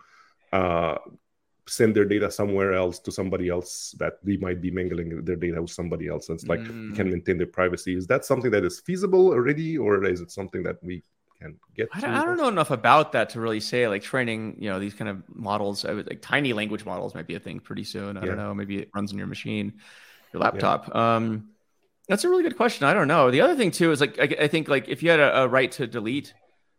send their data somewhere else to somebody else that they might be mingling their data with somebody else. And it's like can maintain their privacy. Is that something that is feasible already, or is it something that we can get to? I don't know enough about that to really say, like training, these kind of models, like tiny language models might be a thing pretty soon. I don't know. Maybe it runs on your machine, your laptop. That's a really good question. I don't know. The other thing too is like, I think like if you had a right to delete,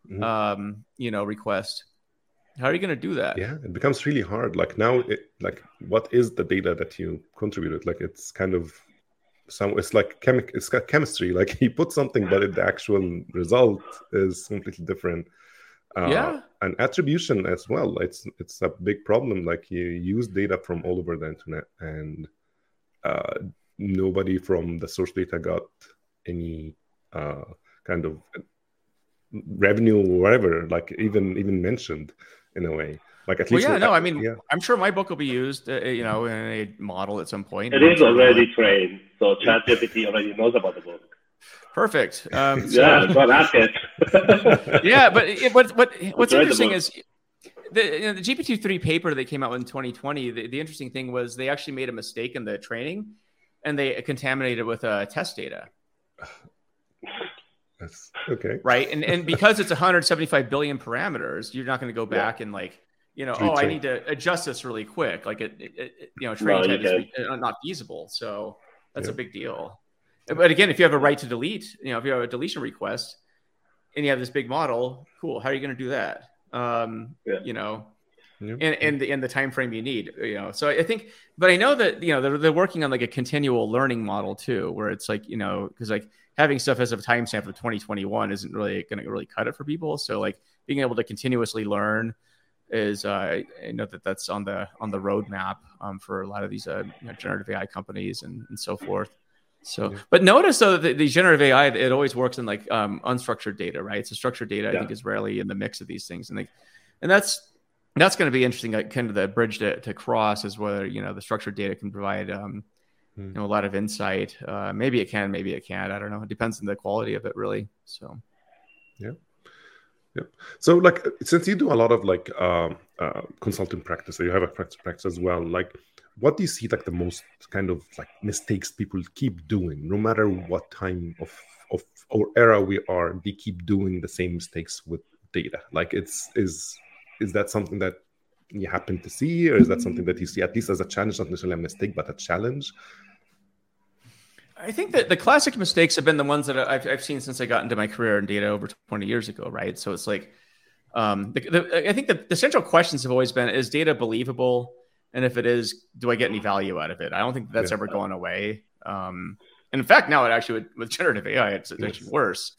request, how are you going to do that? Yeah, it becomes really hard. Like now, what is the data that you contributed? Like it's kind of it's like it's got chemistry. Like he put something, but the actual result is completely different. And attribution as well. It's a big problem. Like you use data from all over the internet, and nobody from the source data got any kind of revenue or whatever. Like even mentioned. In a way, like at least. I'm sure my book will be used, in a model at some point. It is already trained, so ChatGPT already knows about the book. Perfect. Go ask it. Yeah, but what's interesting is the GPT-3 paper that came out in 2020. The interesting thing was they actually made a mistake in the training, and they contaminated it with test data. That's okay. Right. And because it's 175 billion parameters, you're not going to go back and like, I need to adjust this really quick. Like training is not feasible. So that's a big deal. But again, if you have a right to delete, if you have a deletion request and you have this big model, cool. How are you going to do that? And the time frame you need, so I think, but I know that, they're working on like a continual learning model too, where it's like, because like having stuff as a timestamp of 2021 isn't really going to really cut it for people. So like being able to continuously learn is, I know that's on the roadmap for a lot of these generative AI companies and so forth. So, but notice though that the generative AI, it always works in like unstructured data, right? So structured data, I think, is rarely in the mix of these things, and that's going to be interesting. Like kind of the bridge to cross is whether the structured data can provide a lot of insight. Maybe it can, maybe it can't. I don't know. It depends on the quality of it, really. So, yeah. So, like, since you do a lot of like consulting practice, so you have a practice as well. Like, what do you see like the most kind of like mistakes people keep doing, no matter what time of or era we are? They keep doing the same mistakes with data. Like, is that something that you happen to see, or is that something that you see at least as a challenge, not necessarily a mistake, but a challenge? I think that the classic mistakes have been the ones that I've seen since I got into my career in data over 20 years ago, right? So it's like, I think the central questions have always been, is data believable? And if it is, do I get any value out of it? I don't think that's ever going away. And in fact, now it actually, with generative AI, it's actually worse.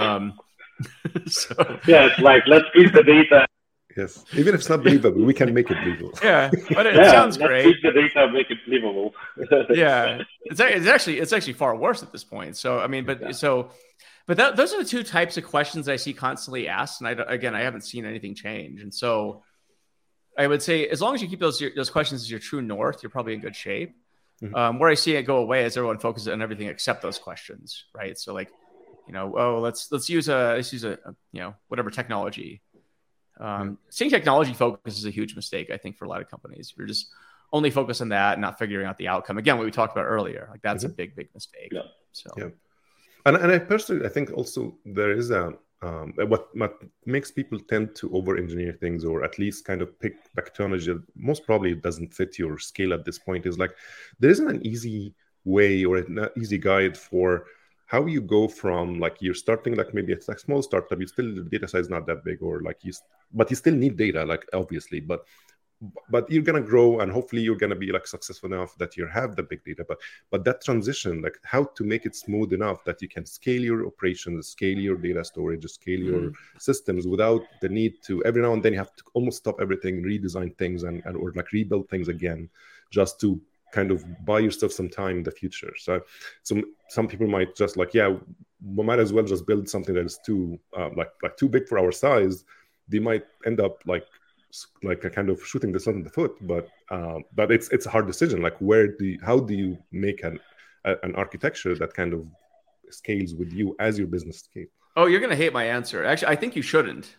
So it's like, let's feed the data. Yes, even if it's not believable, we can make it believable. Yeah, but it sounds great. Let's feed the data, make it believable. Yeah, it's actually far worse at this point. So I mean, those are the two types of questions I see constantly asked, and I haven't seen anything change. And so I would say, as long as you keep those questions as your true north, you're probably in good shape. Mm-hmm. Where I see it go away is everyone focuses on everything except those questions, right? So like, let's use a whatever technology. Seeing technology focus is a huge mistake, I think, for a lot of companies. If you're just only focused on that and not figuring out the outcome, again, what we talked about earlier, like that's a big mistake. Yeah. So and I personally, I think also there is what makes people tend to over-engineer things, or at least kind of pick technology that most probably doesn't fit your scale at this point, is like there isn't an easy way or an easy guide for how you go from like you're starting like maybe it's a small startup, you still the data size is not that big, or like but you still need data, like obviously, but you're gonna grow and hopefully you're gonna be like successful enough that you have the big data. But that transition, like how to make it smooth enough that you can scale your operations, scale your data storage, scale your systems without the need to every now and then you have to almost stop everything, redesign things and or like rebuild things again, just to kind of buy yourself some time in the future. So some people might just like, yeah, we might as well just build something that is too like too big for our size. They might end up like a kind of shooting themselves in the foot, but it's a hard decision. Like how do you make an architecture that kind of scales with you as your business scales? Oh, you're gonna hate my answer. Actually, I think you shouldn't.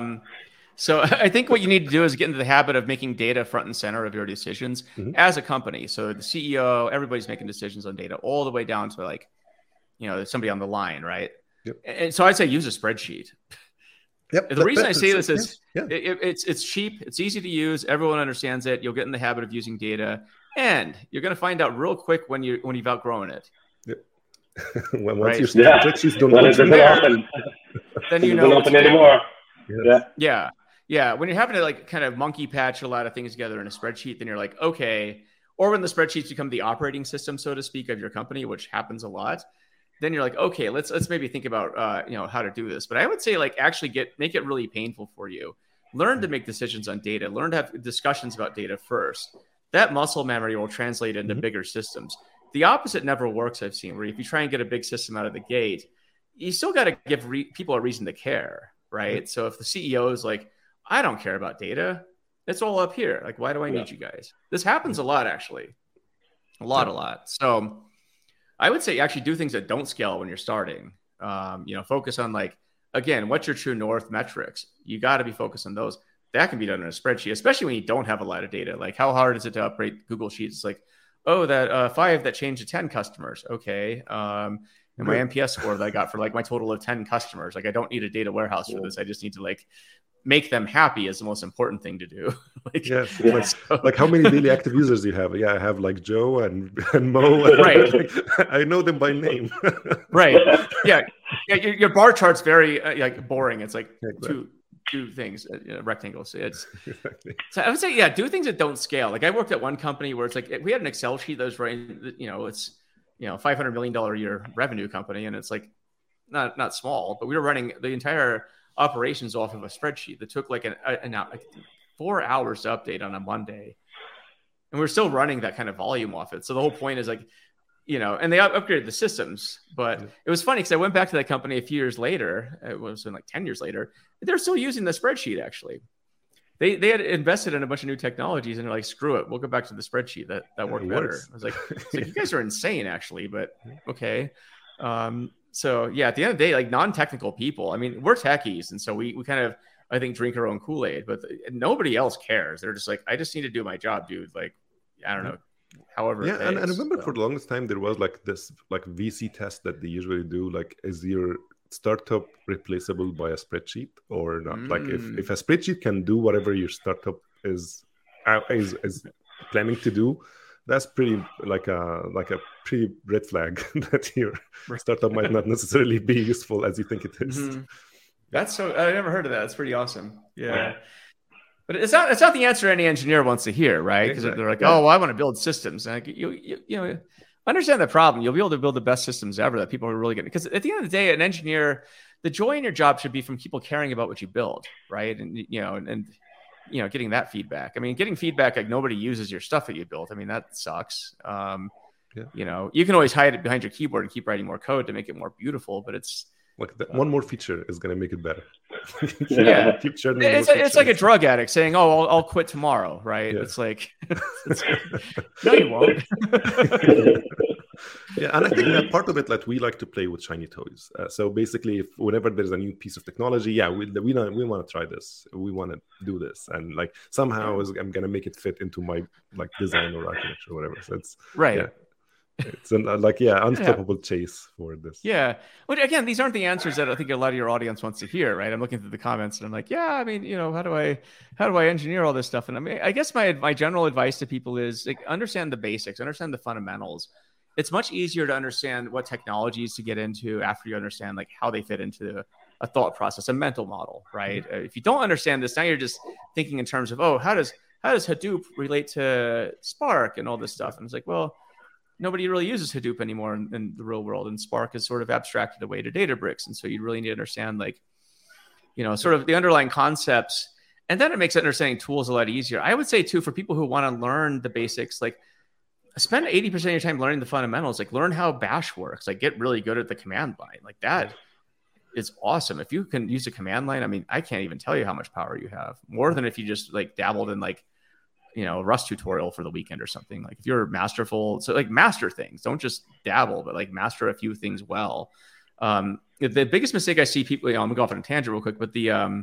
So I think what you need to do is get into the habit of making data front and center of your decisions as a company. So the CEO, everybody's making decisions on data all the way down to like, somebody on the line, right? Yep. And so I'd say use a spreadsheet. Yep. The reason I say this is it's cheap, it's easy to use, everyone understands it. You'll get in the habit of using data, and you're going to find out real quick when you've outgrown it. Yep. Once your spreadsheets don't open, then you know open anymore. Yeah. When you're having to like kind of monkey patch a lot of things together in a spreadsheet, then you're like, okay. Or when the spreadsheets become the operating system, so to speak, of your company, which happens a lot, then you're like, okay, let's maybe think about how to do this. But I would say like actually make it really painful for you. Learn to make decisions on data. Learn to have discussions about data first. That muscle memory will translate into bigger systems. The opposite never works, I've seen, where if you try and get a big system out of the gate, you still got to give people a reason to care, right? So if the CEO is like, I don't care about data, it's all up here. Like, why do I need you guys? This happens a lot, actually. A lot. So I would say actually do things that don't scale when you're starting. Focus on like, again, what's your true north metrics? You got to be focused on those. That can be done in a spreadsheet, especially when you don't have a lot of data. Like how hard is it to operate Google Sheets? It's like, oh, that 5 that changed to 10 customers. Okay. And my NPS score that I got for like my total of 10 customers. Like I don't need a data warehouse for this. I just need to like make them happy is the most important thing to do. Like how many daily active users do you have? Yeah, I have like Joe and Mo. Right. I know them by name. Right. Yeah. Your bar chart's very like boring. It's like two things, rectangles. So I would say, do things that don't scale. Like I worked at one company where it's like we had an Excel sheet that was running, it's $500 million a year revenue company, and it's like not small, but we were running the entire operations off of a spreadsheet that took like 4 hours to update on a Monday, and we're still running that kind of volume off it. So the whole point is like, and they upgraded the systems, but it was funny because I went back to that company a few years later. It was like 10 years later. They're still using the spreadsheet. Actually, they had invested in a bunch of new technologies, and they're like, screw it, we'll go back to the spreadsheet. That worked better. I was like, you guys are insane, actually, but okay. So yeah, at the end of the day, like non-technical people, I mean, we're techies. And so we kind of, I think, drink our own Kool-Aid, but nobody else cares. They're just like, I just need to do my job, dude. Like, I don't know, however. Yeah. And I remember for the longest time, there was like this like VC test that they usually do. Like, is your startup replaceable by a spreadsheet or not? Like if a spreadsheet can do whatever your startup is planning to do, that's pretty like a pretty red flag that your startup might not necessarily be useful as you think it is. That's so I never heard of that. It's pretty awesome. Yeah. But it's not the answer any engineer wants to hear, right? Because they're like, oh, well, I want to build systems. And like, you understand the problem. You'll be able to build the best systems ever that people are really good. Because at the end of the day, an engineer, the joy in your job should be from people caring about what you build, right? And getting that feedback. I mean, getting feedback like nobody uses your stuff that you built. I mean, that sucks. You can always hide it behind your keyboard and keep writing more code to make it more beautiful, but it's like one more feature is going to make it better. Keep it's like a drug addict saying, "Oh, I'll quit tomorrow," right? Yeah. It's like, no, you won't. Yeah, and I think that part of it, like we like to play with shiny toys. So basically, whenever there's a new piece of technology, we want to try this, we want to do this, and like somehow I'm gonna make it fit into my like design or architecture or whatever. So it's right. Yeah. It's unstoppable chase for this. Yeah. Well, again, these aren't the answers that I think a lot of your audience wants to hear, right? I'm looking through the comments and I'm like, yeah, I mean, how do I engineer all this stuff? And I mean, I guess my general advice to people is like, understand the basics, understand the fundamentals. it's much easier to understand what technologies to get into after you understand like how they fit into a thought process, a mental model, right? If you don't understand this, now you're just thinking in terms of, oh, how does Hadoop relate to Spark and all this stuff? And it's like, well, nobody really uses Hadoop anymore in the real world, and Spark is sort of abstracted away to Databricks, and so you really need to understand like, sort of the underlying concepts, and then it makes understanding tools a lot easier. I would say too, for people who want to learn the basics, like spend 80% of your time learning the fundamentals, like learn how Bash works, like get really good at the command line, like that. It's awesome. If you can use a command line, I mean, I can't even tell you how much power you have, more than if you just like dabbled in like, Rust tutorial for the weekend or something. Like if you're masterful, so like master things, don't just dabble, but like master a few things well. The biggest mistake I see people, I'm gonna go off on a tangent real quick, but a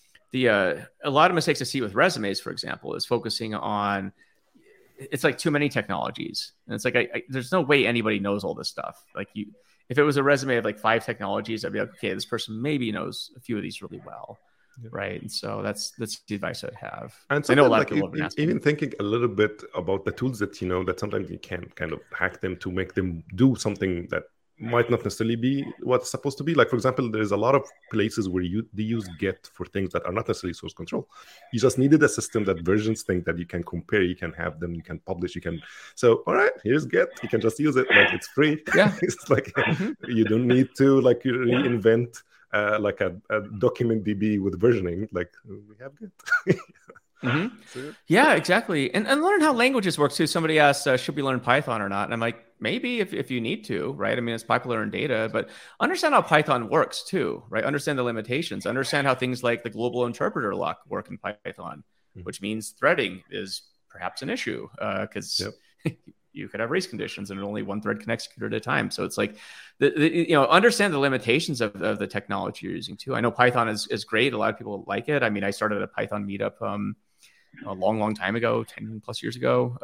lot of mistakes I see with resumes, for example, is focusing on, it's like too many technologies. And it's like, there's no way anybody knows all this stuff. Like if it was a resume of like 5 technologies, I'd be like, okay, this person maybe knows a few of these really well. Yeah. Right. And so that's the advice I'd have. And I know a lot of people have been asking. Even thinking a little bit about the tools that, that sometimes you can kind of hack them to make them do something that might not necessarily be what's supposed to be. Like, for example, there's a lot of places where they use Git for things that are not necessarily source control. You just needed a system that versions things that you can compare, you can have them, you can publish, so, all right, here's Git. You can just use it. Like, it's free. Yeah. It's like, you don't need to like reinvent like a document DB with versioning. Like, we have Git. Mm-hmm. Yeah, exactly. And learn how languages work too. Somebody asked, should we learn Python or not? And I'm like, maybe if you need to, right? I mean, it's popular in data, but understand how Python works too, right? Understand the limitations, understand how things like the global interpreter lock work in Python, which means threading is perhaps an issue because you could have race conditions and only one thread can execute at a time. So it's like, understand the limitations of the technology you're using too. I know Python is great. A lot of people like it. I mean, I started a Python meetup a long time ago, 10 plus years ago.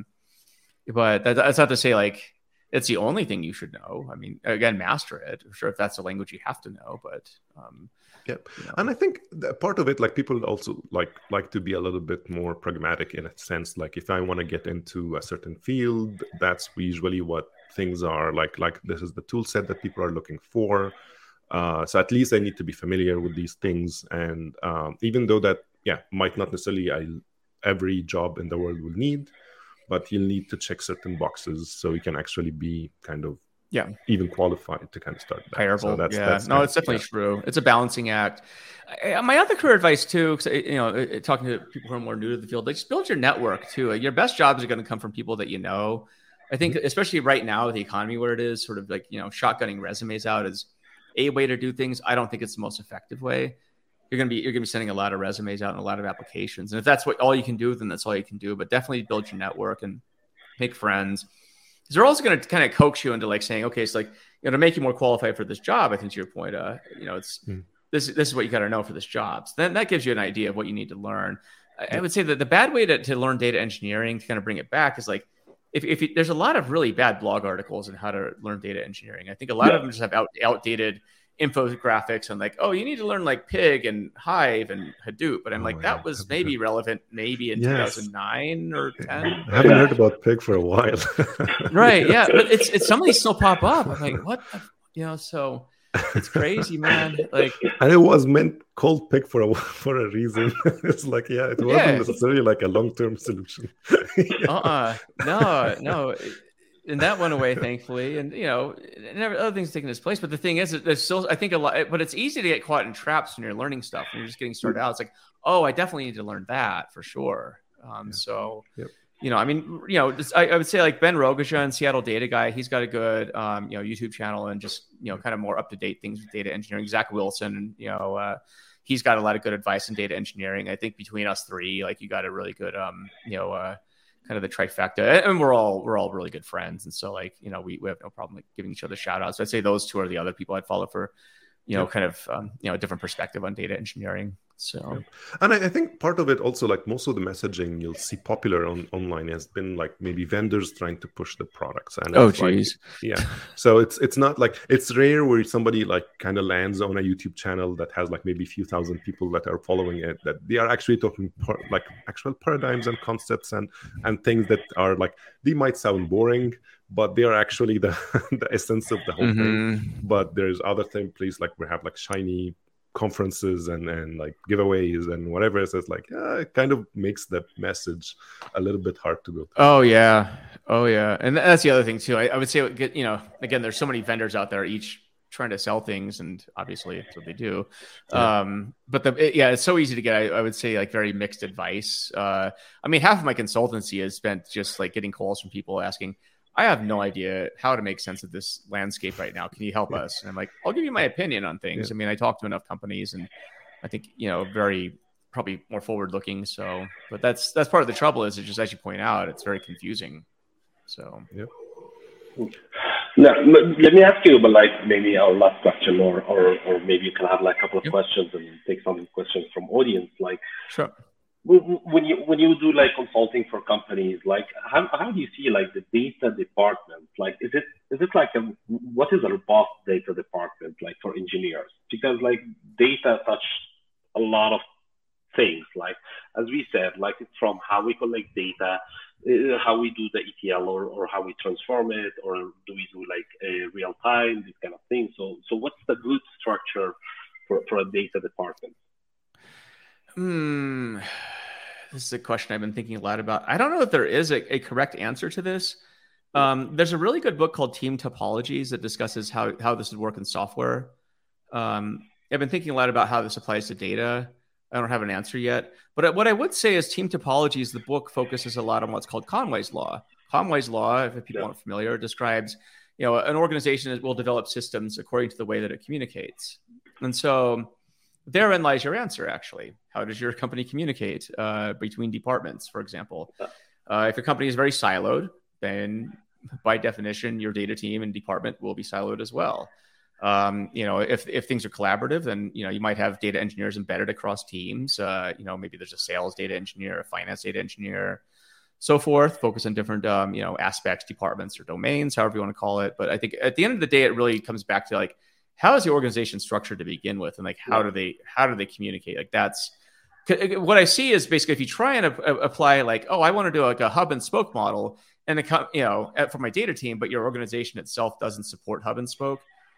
But that's not to say like it's the only thing you should know. I mean, again, master it. I'm sure if that's a language you have to know, but yep. And I think that part of it, like people also like to be a little bit more pragmatic in a sense. Like if I want to get into a certain field, that's usually what things are like this is the tool set that people are looking for. So at least I need to be familiar with these things. And even though that, might not necessarily every job in the world will need, but you'll need to check certain boxes so you can actually be kind of even qualified to kind of start that. Hireable. So that's it's definitely true. It's a balancing act. My other career advice too, because talking to people who are more new to the field, like just build your network too. Your best jobs are going to come from people that you know. I think especially right now with the economy where it is, sort of like shotgunning resumes out is a way to do things. I don't think it's the most effective way. You're gonna be sending a lot of resumes out and a lot of applications, and if that's all you can do, then that's all you can do. But definitely build your network and make friends. Because they're also going to kind of coax you into like saying, okay, so like to make you more qualified for this job. I think to your point, it's this is what you got to know for this job. So then that gives you an idea of what you need to learn. I would say that the bad way to learn data engineering, to kind of bring it back, is like if there's a lot of really bad blog articles on how to learn data engineering. I think a lot of them just have outdated infographics and like, oh, you need to learn like Pig and Hive and Hadoop. But I'm like, that was maybe relevant maybe in 2009 or 10. I haven't heard about Pig for a while. Right. Yeah. But it's some of these still pop up. I'm like, what? So it's crazy, man. Like, and it was called Pig for a reason. It's like, it wasn't necessarily like a long-term solution. No. And that went away, thankfully. And, and other things taking its place. But the thing is, there's still, I think, a lot, but it's easy to get caught in traps when you're learning stuff and you're just getting started out. It's like, oh, I definitely need to learn that for sure. So, I mean, I would say like Ben Rogajan, Seattle data guy, he's got a good, YouTube channel and just, kind of more up-to-date things with data engineering. Zach Wilson, he's got a lot of good advice in data engineering. I think between us three, like you got a really good, kind of the trifecta, and we're all really good friends. And so like, we have no problem like giving each other shout outs. So I'd say those two are the other people I'd follow for, kind of, a different perspective on data engineering. So, and I think part of it also, like most of the messaging you'll see popular online has been like maybe vendors trying to push the products. And so it's not like, it's rare where somebody like kind of lands on a YouTube channel that has like maybe a few thousand people that are following it, that they are actually talking like actual paradigms and concepts and things that are like, they might sound boring, but they are actually the essence of the whole thing. But there's other things, please, like we have like shiny conferences and like giveaways and whatever. So it's like it kind of makes the message a little bit hard to go through. Oh yeah, and that's the other thing too. I would say, you know, again, there's so many vendors out there, each trying to sell things, and obviously that's what they do. But it's so easy to get, I would say, like very mixed advice. I mean, half of my consultancy is spent just like getting calls from people asking, I have no idea how to make sense of this landscape right now. Can you help us? And I'm like, I'll give you my opinion on things. I mean, I talk to enough companies, and I think, you know, very probably more forward looking. So, but that's part of the trouble, is it just, as you point out, it's very confusing. So, Now, let me ask you about like maybe our last question, or maybe you can have like a couple of questions and take some questions from audience. Like, sure. When you do like consulting for companies, like how do you see like the data department? Like, is it like what is a robust data department like for engineers? Because like data touch a lot of things. Like, as we said, like it's from how we collect data, how we do the ETL, or how we transform it, or do we do like real time, these kind of things. So what's the good structure for a data department? This is a question I've been thinking a lot about. I don't know if there is a correct answer to this. There's a really good book called Team Topologies that discusses how this would work in software. I've been thinking a lot about how this applies to data. I don't have an answer yet. But what I would say is Team Topologies, the book focuses a lot on what's called Conway's Law. Conway's Law, if people aren't familiar, describes, you know, an organization that will develop systems according to the way that it communicates. And so therein lies your answer, actually. How does your company communicate between departments, for example? If a company is very siloed, then by definition, your data team and department will be siloed as well. You know, if things are collaborative, then, you know, you might have data engineers embedded across teams. You know, maybe there's a sales data engineer, a finance data engineer, so forth, focus on different, you know, aspects, departments, or domains, however you want to call it. But I think at the end of the day, it really comes back to like, how is the organization structured to begin with? And like, how do they communicate? Like, that's what I see is basically, if you try and apply like, oh, I want to do like a hub and spoke model, and you know, for my data team, but your organization itself doesn't support hub and spoke.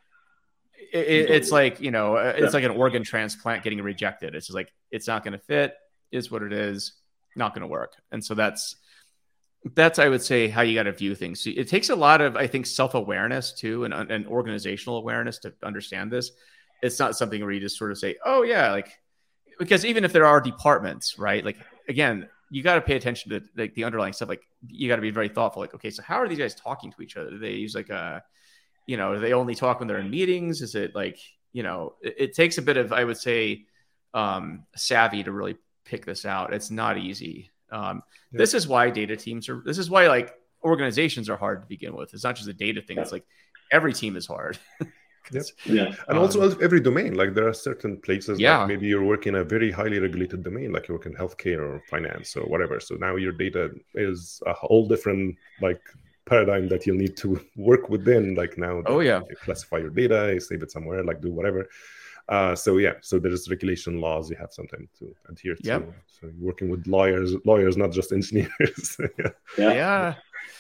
It's like, you know, it's like an organ transplant getting rejected. It's just like, it's not going to fit, is what it is, not going to work. And so that's, I would say, how you got to view things. So it takes a lot of, I think, self-awareness too, and organizational awareness to understand this. It's not something where you just sort of say, oh yeah, like, because even if there are departments, right? Like, again, you got to pay attention to like the underlying stuff. Like, you got to be very thoughtful. Like, okay, so how are these guys talking to each other? Do they use like you know, do they only talk when they're in meetings? Is it like, you know, it takes a bit of, I would say, savvy to really pick this out. It's not easy. This is why data teams are, this is why like organizations are hard to begin with. It's not just a data thing. It's like every team is hard. And also every domain, like there are certain places, like maybe you're working in a very highly regulated domain, like you work in healthcare or finance or whatever. So now your data is a whole different like paradigm that you'll need to work within. Like now, you classify your data, you save it somewhere, like do whatever. So there's regulation laws you have sometimes to adhere to. So you're working with lawyers, not just engineers. There's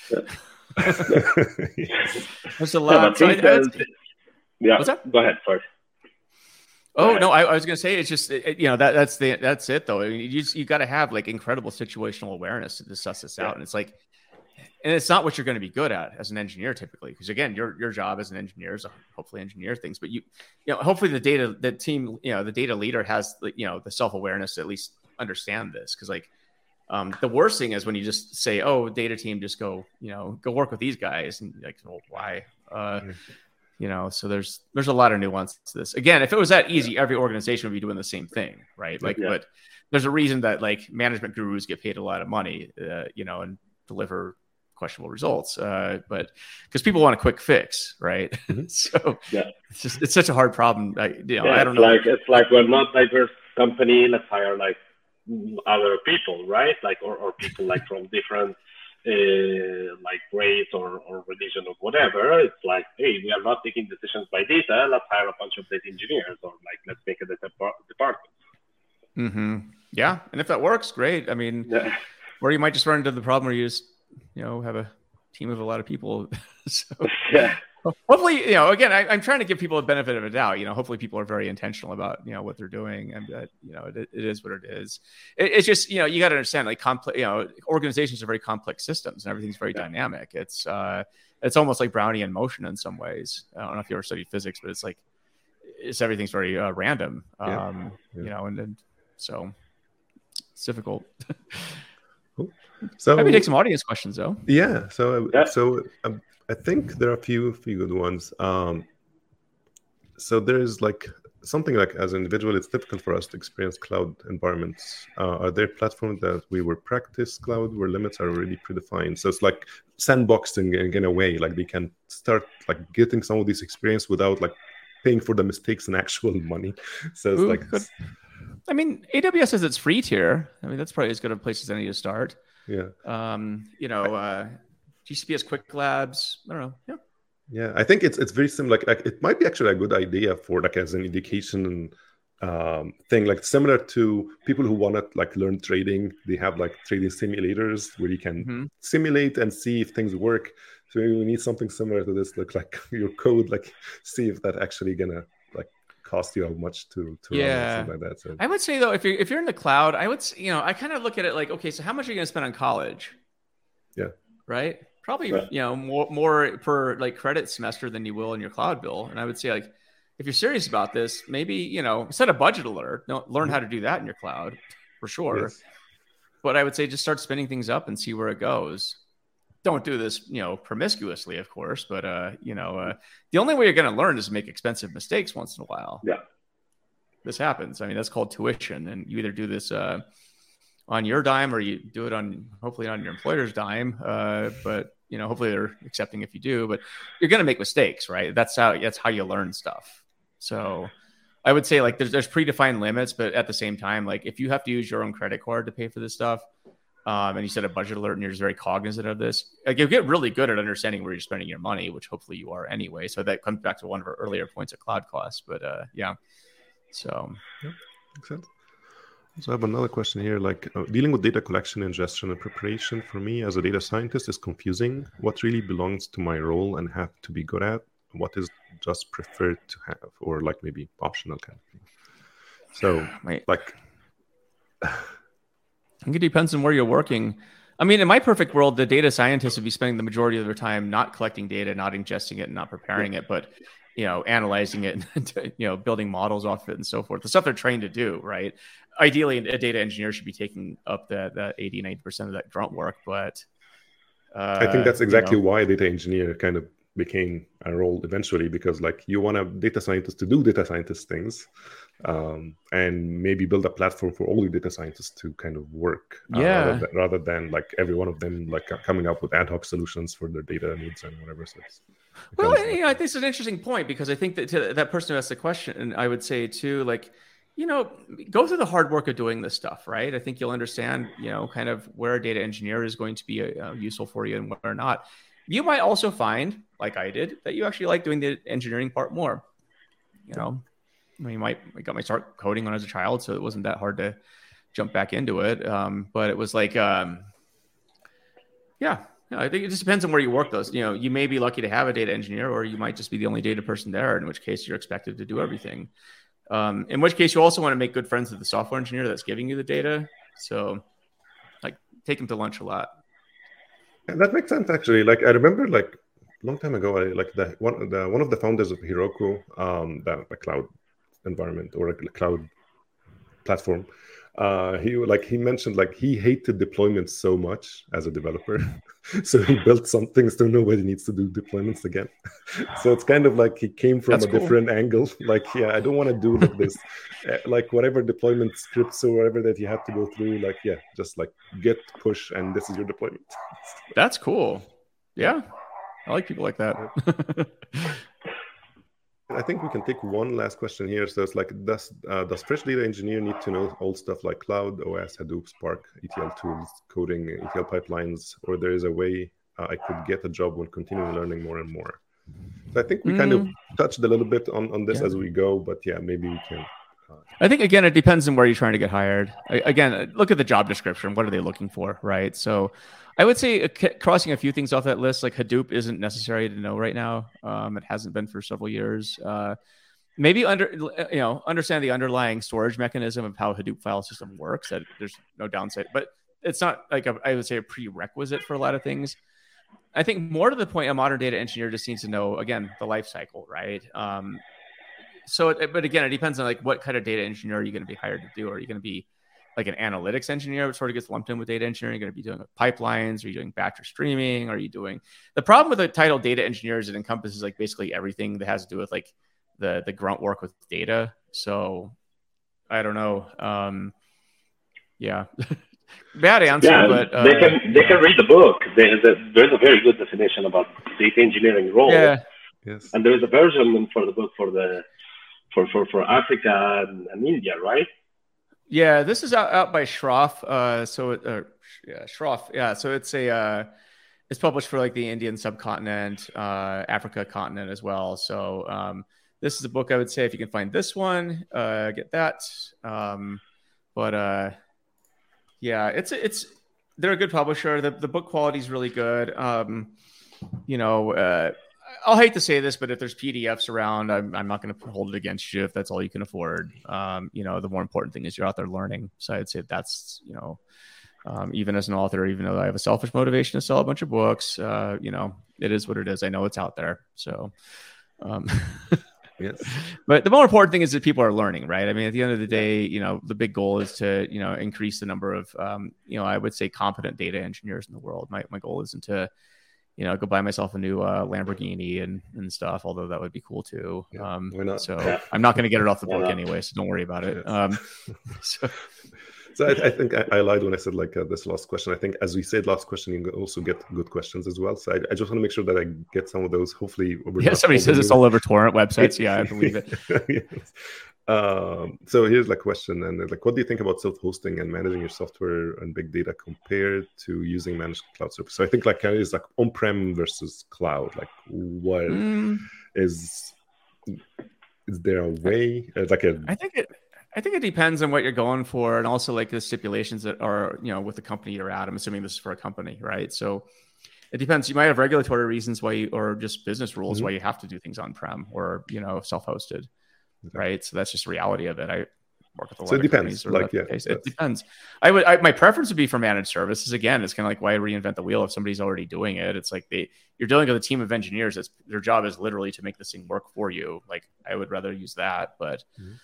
a lot. What's that? Go ahead. Sorry. No, I was going to say, it's just, you know, that's it though. I mean, you got to have like incredible situational awareness to suss this out. And it's like, and it's not what you're going to be good at as an engineer typically, because again, your job as an engineer is to hopefully engineer things, but you know, hopefully the data leader has, you know, the self-awareness to at least understand this. Cause like, the worst thing is when you just say, oh, data team, just go work with these guys. And you're like, well, why? You know, so there's a lot of nuance to this. Again, if it was that easy, every organization would be doing the same thing, right? Like, but there's a reason that like management gurus get paid a lot of money, you know, and deliver questionable results, but because people want a quick fix, right? So it's such a hard problem. I don't know. It's like we're not diverse company, let's hire like other people, right? Like, or people like from different like race or religion or whatever. It's like, hey, we are not taking decisions by data. Let's hire a bunch of data engineers, or like, let's make a data department. Mm-hmm. Yeah, and if that works, great. I mean, or you might just run into the problem where you just, have a team of a lot of people. So hopefully, again, I'm trying to give people a benefit of a doubt. Hopefully people are very intentional about, what they're doing, and that, it is what it is. It's just, you got to understand, like, complex, organizations are very complex systems, and everything's very dynamic. It's almost like Brownian motion in some ways. I don't know if you ever studied physics, but everything's very random. And so it's difficult. Cool. So maybe take some audience questions though. Yeah. So I think there are a few good ones. So there's like something like, as an individual, it's difficult for us to experience cloud environments. Are there platforms that we will practice cloud where limits are already predefined? So it's like sandboxing in a way, like they can start like getting some of this experience without like paying for the mistakes and actual money. So it's good. I mean, AWS has its free tier. I mean, that's probably as good a place as any to start. Yeah. GCP has Quick Labs. I don't know. Yeah. Yeah, I think it's very similar. Like it might be actually a good idea for like as an education thing, like similar to people who want to like learn trading. They have like trading simulators where you can simulate and see if things work. So maybe we need something similar to this. Look like your code, like see if that actually gonna like cost you how much to run or something like that. So I would say though, if you're in the cloud, I would I kind of look at it like, okay, so how much are you gonna spend on college? Yeah. Right. Probably, more per like credit semester than you will in your cloud bill. And I would say, like, if you're serious about this, maybe, set a budget alert. Learn how to do that in your cloud for sure. Yes. But I would say just start spinning things up and see where it goes. Don't do this, promiscuously, of course. But, the only way you're going to learn is to make expensive mistakes once in a while. Yeah. This happens. I mean, that's called tuition. And you either do this on your dime or you do it hopefully on your employer's dime. But, hopefully they're accepting if you do, but you're going to make mistakes, right? That's how you learn stuff. So I would say like there's predefined limits, but at the same time, like if you have to use your own credit card to pay for this stuff, and you set a budget alert and you're just very cognizant of this, like you get really good at understanding where you're spending your money, which hopefully you are anyway. So that comes back to one of our earlier points of cloud costs, but so. Yeah, makes sense. So I have another question here, like dealing with data collection, ingestion, and preparation for me as a data scientist is confusing. What really belongs to my role and have to be good at? What is just preferred to have, or like maybe optional kind of thing? So I think it depends on where you're working. I mean, in my perfect world, the data scientists would be spending the majority of their time not collecting data, not ingesting it, and not preparing it, but analyzing it and building models off it and so forth. The stuff they're trained to do, right? Ideally, a data engineer should be taking up that 80-90% of that grunt work. But I think that's exactly why data engineer kind of became a role eventually, because like you want a data scientist to do data scientist things, and maybe build a platform for all the data scientists to kind of work, rather than like every one of them like coming up with ad hoc solutions for their data needs and whatever. So well, I think it's an interesting point, because I think that to that person who asked the question, I would say too, like, go through the hard work of doing this stuff, right? I think you'll understand, kind of where a data engineer is going to be useful for you and where not. You might also find, like I did, that you actually like doing the engineering part more. I got my start coding when I was a child, so it wasn't that hard to jump back into it. But it was like, I think it just depends on where you work those. You may be lucky to have a data engineer, or you might just be the only data person there, in which case you're expected to do everything. In which case you also want to make good friends with the software engineer that's giving you the data. So like take them to lunch a lot. And that makes sense, actually. Like I remember like a long time ago, one of the founders of Heroku, the cloud environment or a cloud platform, he mentioned like he hated deployments so much as a developer. So he built some things so nobody needs to do deployments again. So it's kind of like he came from a different angle. Like, I don't want to do like this, like whatever deployment scripts or whatever that you have to go through, like, just like get, push, and this is your deployment. That's cool. Yeah. I like people like that. I think we can take one last question here. So it's like, does fresh data engineer need to know old stuff like Cloud, OS, Hadoop, Spark, ETL tools, coding, ETL pipelines, or there is a way I could get a job when continuing learning more and more? So I think we kind of touched a little bit on this as we go, but yeah, maybe we can. I think, again, it depends on where you're trying to get hired. Again, look at the job description. What are they looking for, right? So I would say crossing a few things off that list, like Hadoop isn't necessary to know right now. It hasn't been for several years. Maybe understand the underlying storage mechanism of how Hadoop file system works. That there's no downside, but it's not like I would say a prerequisite for a lot of things. I think more to the point, a modern data engineer just needs to know, again, the life cycle, right? But again, it depends on like what kind of data engineer are you going to be hired to do? Are you going to be like an analytics engineer, which sort of gets lumped in with data engineering? Are you going to be doing pipelines? Are you doing batch or streaming? Are you doing the problem with the title data engineer is it encompasses like basically everything that has to do with like the grunt work with data. So I don't know. Yeah. Bad answer, but they can read the book. There's a very good definition about data engineering role. Yeah. Yes. And there is a version for the book for Africa and India, right? Yeah, this is out by Shroff. Shroff. Yeah, so it's published for like the Indian subcontinent, Africa continent as well. So this is a book I would say if you can find this one, get that. Yeah, they're a good publisher. The book quality is really good. I'll hate to say this, but if there's PDFs around, I'm not going to hold it against you if that's all you can afford. The more important thing is you're out there learning. So I'd say that's, even as an author, even though I have a selfish motivation to sell a bunch of books, it is what it is. I know it's out there. So, yes. But the more important thing is that people are learning, right? I mean, at the end of the day, the big goal is to, increase the number of, I would say competent data engineers in the world. My goal isn't to, go buy myself a new Lamborghini and stuff, although that would be cool too. Yeah, why not? So I'm not going to get it off the book anyway, so don't worry about it. Yes. So I think I lied when I said like this last question. I think as we said last question, you also get good questions as well. So I just want to make sure that I get some of those. Hopefully, somebody says it's all over torrent websites. Yeah, I believe it. Yes. So here's the question, and like, what do you think about self-hosting and managing your software and big data compared to using managed cloud service? So I think like it's like on-prem versus cloud. Like, what is there a way? I think it depends on what you're going for, and also like the stipulations that are with the company you're at. I'm assuming this is for a company, right? So it depends. You might have regulatory reasons why or just business rules why you have to do things on-prem or self-hosted. Right. So that's just the reality of it. I work with a lot of companies. It depends. My preference would be for managed services. Again, it's kind of like why reinvent the wheel if somebody's already doing it. It's like you're dealing with a team of engineers. Their job is literally to make this thing work for you. Like I would rather use that. But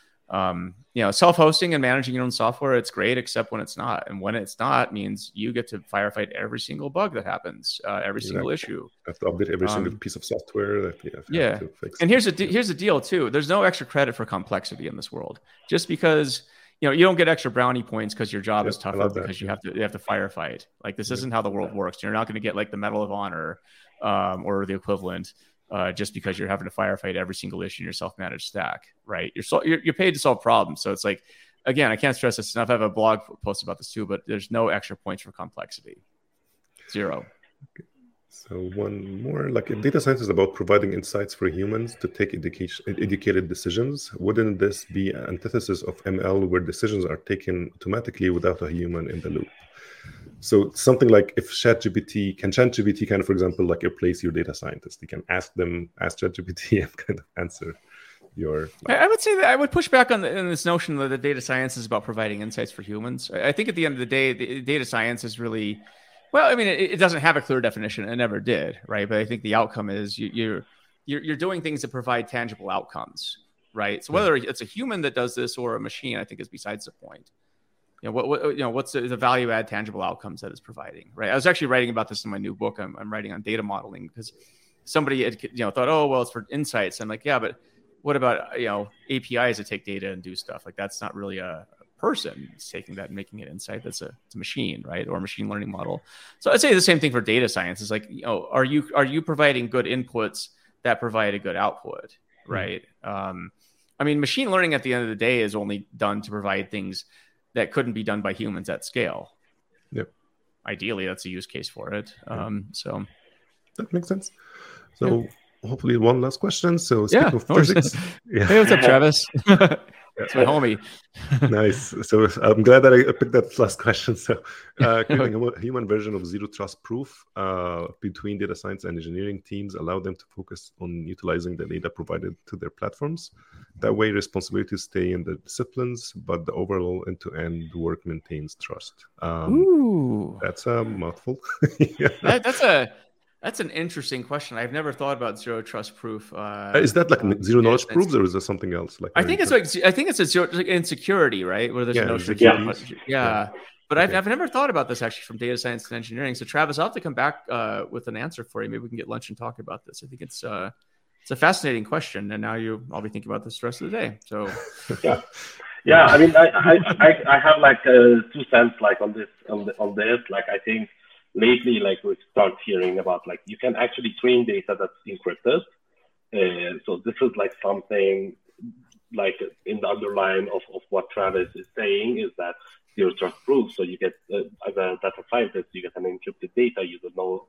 self-hosting and managing your own software, it's great, except when it's not. And when it's not means you get to firefight every single bug that happens, every single issue. You have to update every single piece of software that you have to fix. And here's the deal too. There's no extra credit for complexity in this world. Just because you don't get extra brownie points because your job is tougher because you have to firefight. Like this isn't how the world works. You're not going to get like the Medal of Honor or the equivalent. Just because you're having to firefight every single issue in your self-managed stack, right? You're paid to solve problems. So it's like, again, I can't stress this enough. I have a blog post about this too, but there's no extra points for complexity. Zero. Okay. So one more, like data science is about providing insights for humans to take educated decisions. Wouldn't this be an antithesis of ML where decisions are taken automatically without a human in the loop? So something like if ChatGPT kind of, for example, like replace your data scientist, you can ask ChatGPT and kind of answer your. I would say that I would push back on this notion that the data science is about providing insights for humans. I think at the end of the day, the data science is really, well, I mean, it doesn't have a clear definition. It never did, right? But I think the outcome is you're doing things that provide tangible outcomes, right? So whether it's a human that does this or a machine, I think is besides the point. What's the value add tangible outcomes that it's providing, right? I was actually writing about this in my new book. I'm writing on data modeling because somebody had, thought, oh, well, it's for insights. I'm like, yeah, but what about, APIs that take data and do stuff? Like that's not really a person. It's taking that and making it insight. It's a machine, right? Or a machine learning model. So I'd say the same thing for data science. It's like, are you providing good inputs that provide a good output? right? I mean, machine learning at the end of the day is only done to provide things that couldn't be done by humans at scale. Yep. Ideally, that's a use case for it. So that makes sense. So hopefully one last question. So speaking of physics. Hey, what's up, Travis? That's my homie. Nice. So I'm glad that I picked that last question. So creating a human version of zero trust proof between data science and engineering teams allow them to focus on utilizing the data provided to their platforms. That way, responsibilities stay in the disciplines, but the overall end-to-end work maintains trust. Ooh, that's a mouthful. That's an interesting question. I've never thought about zero trust proof. Is that like zero knowledge proofs, or is there something else? Like I think it's a zero like insecurity, right? Where there's no security. But I've never thought about this actually from data science and engineering. So Travis, I'll have to come back with an answer for you. Maybe we can get lunch and talk about this. I think it's a fascinating question, and now I'll be thinking about this the rest of the day. So yeah. I mean, I have like 2 cents like on this. Like I think. Lately, like we start hearing about like you can actually train data that's encrypted. So this is like something like in the underline of what Travis is saying is that zero trust proof. So you get as a data scientist, you get an encrypted data. You don't know,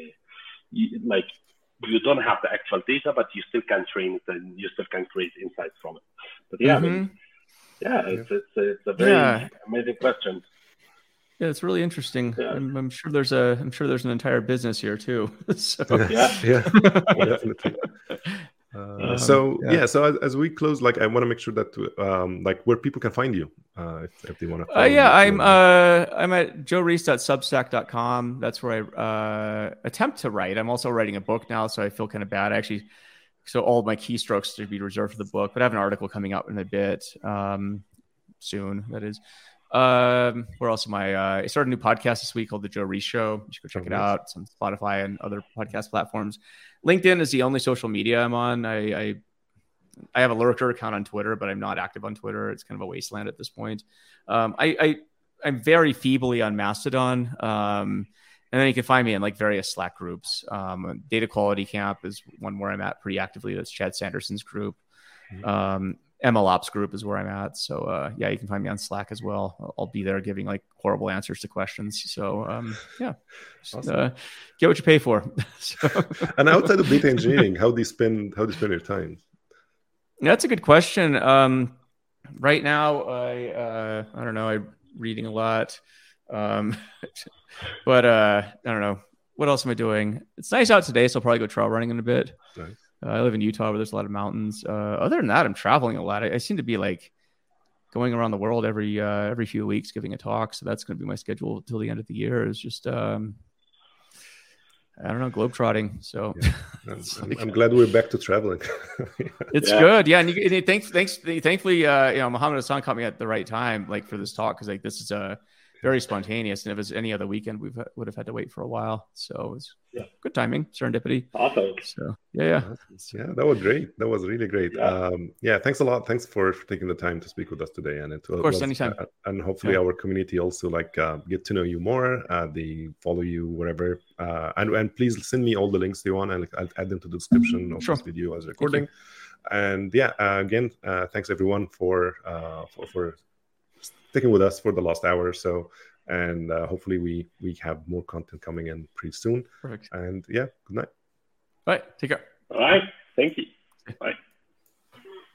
you don't have the actual data, but you still can train it and you still can create insights from it. But I mean, it's a very amazing question. Yeah, it's really interesting. Yeah. I'm sure there's an entire business here too. So. Definitely. So as we close, like I want to make sure that like where people can find you if they want to. I'm at joereis.substack.com. That's where I attempt to write. I'm also writing a book now, so I feel kind of bad so all of my keystrokes to be reserved for the book. But I have an article coming out in a bit soon. That is. Where else am I started a new podcast this week called The Joe Reis Show. You should go check it out. It's on Spotify and other podcast platforms. LinkedIn is the only social media I'm on. I have a lurker account on Twitter, but I'm not active on Twitter. It's kind of a wasteland at this point. I'm very feebly on Mastodon. And then you can find me in like various Slack groups. Data Quality Camp is one where I'm at pretty actively. That's Chad Sanderson's group. MLOps group is where I'm at. So you can find me on Slack as well. I'll be there giving like horrible answers to questions. So awesome. Get what you pay for. And outside of data engineering, how do you spend your time? That's a good question. Right now, I don't know. I'm reading a lot, but I don't know. What else am I doing? It's nice out today, so I'll probably go trail running in a bit. Nice. I live in Utah where there's a lot of mountains. Other than that, I'm traveling a lot. I seem to be like going around the world every few weeks giving a talk. So that's going to be my schedule till the end of the year is just, I don't know, globetrotting. So I'm glad we're back to traveling. It's good. Yeah. And thankfully, Mohammed Hassan caught me at the right time, like for this talk. Cause like, this is very spontaneous. And if it was any other weekend, we would have had to wait for a while. So it was good timing, serendipity. Awesome. So yeah, that was great. That was really great. Thanks a lot. Thanks for taking the time to speak with us today. And of course, anytime. And hopefully our community also like get to know you more. They follow you wherever. And please send me all the links you want, and I'll add them to the description of this video as recording. And again, thanks everyone for sticking with us for the last hour or so, and hopefully we have more content coming in pretty soon. Perfect. And good night. All right, take care. All right, thank you. Bye.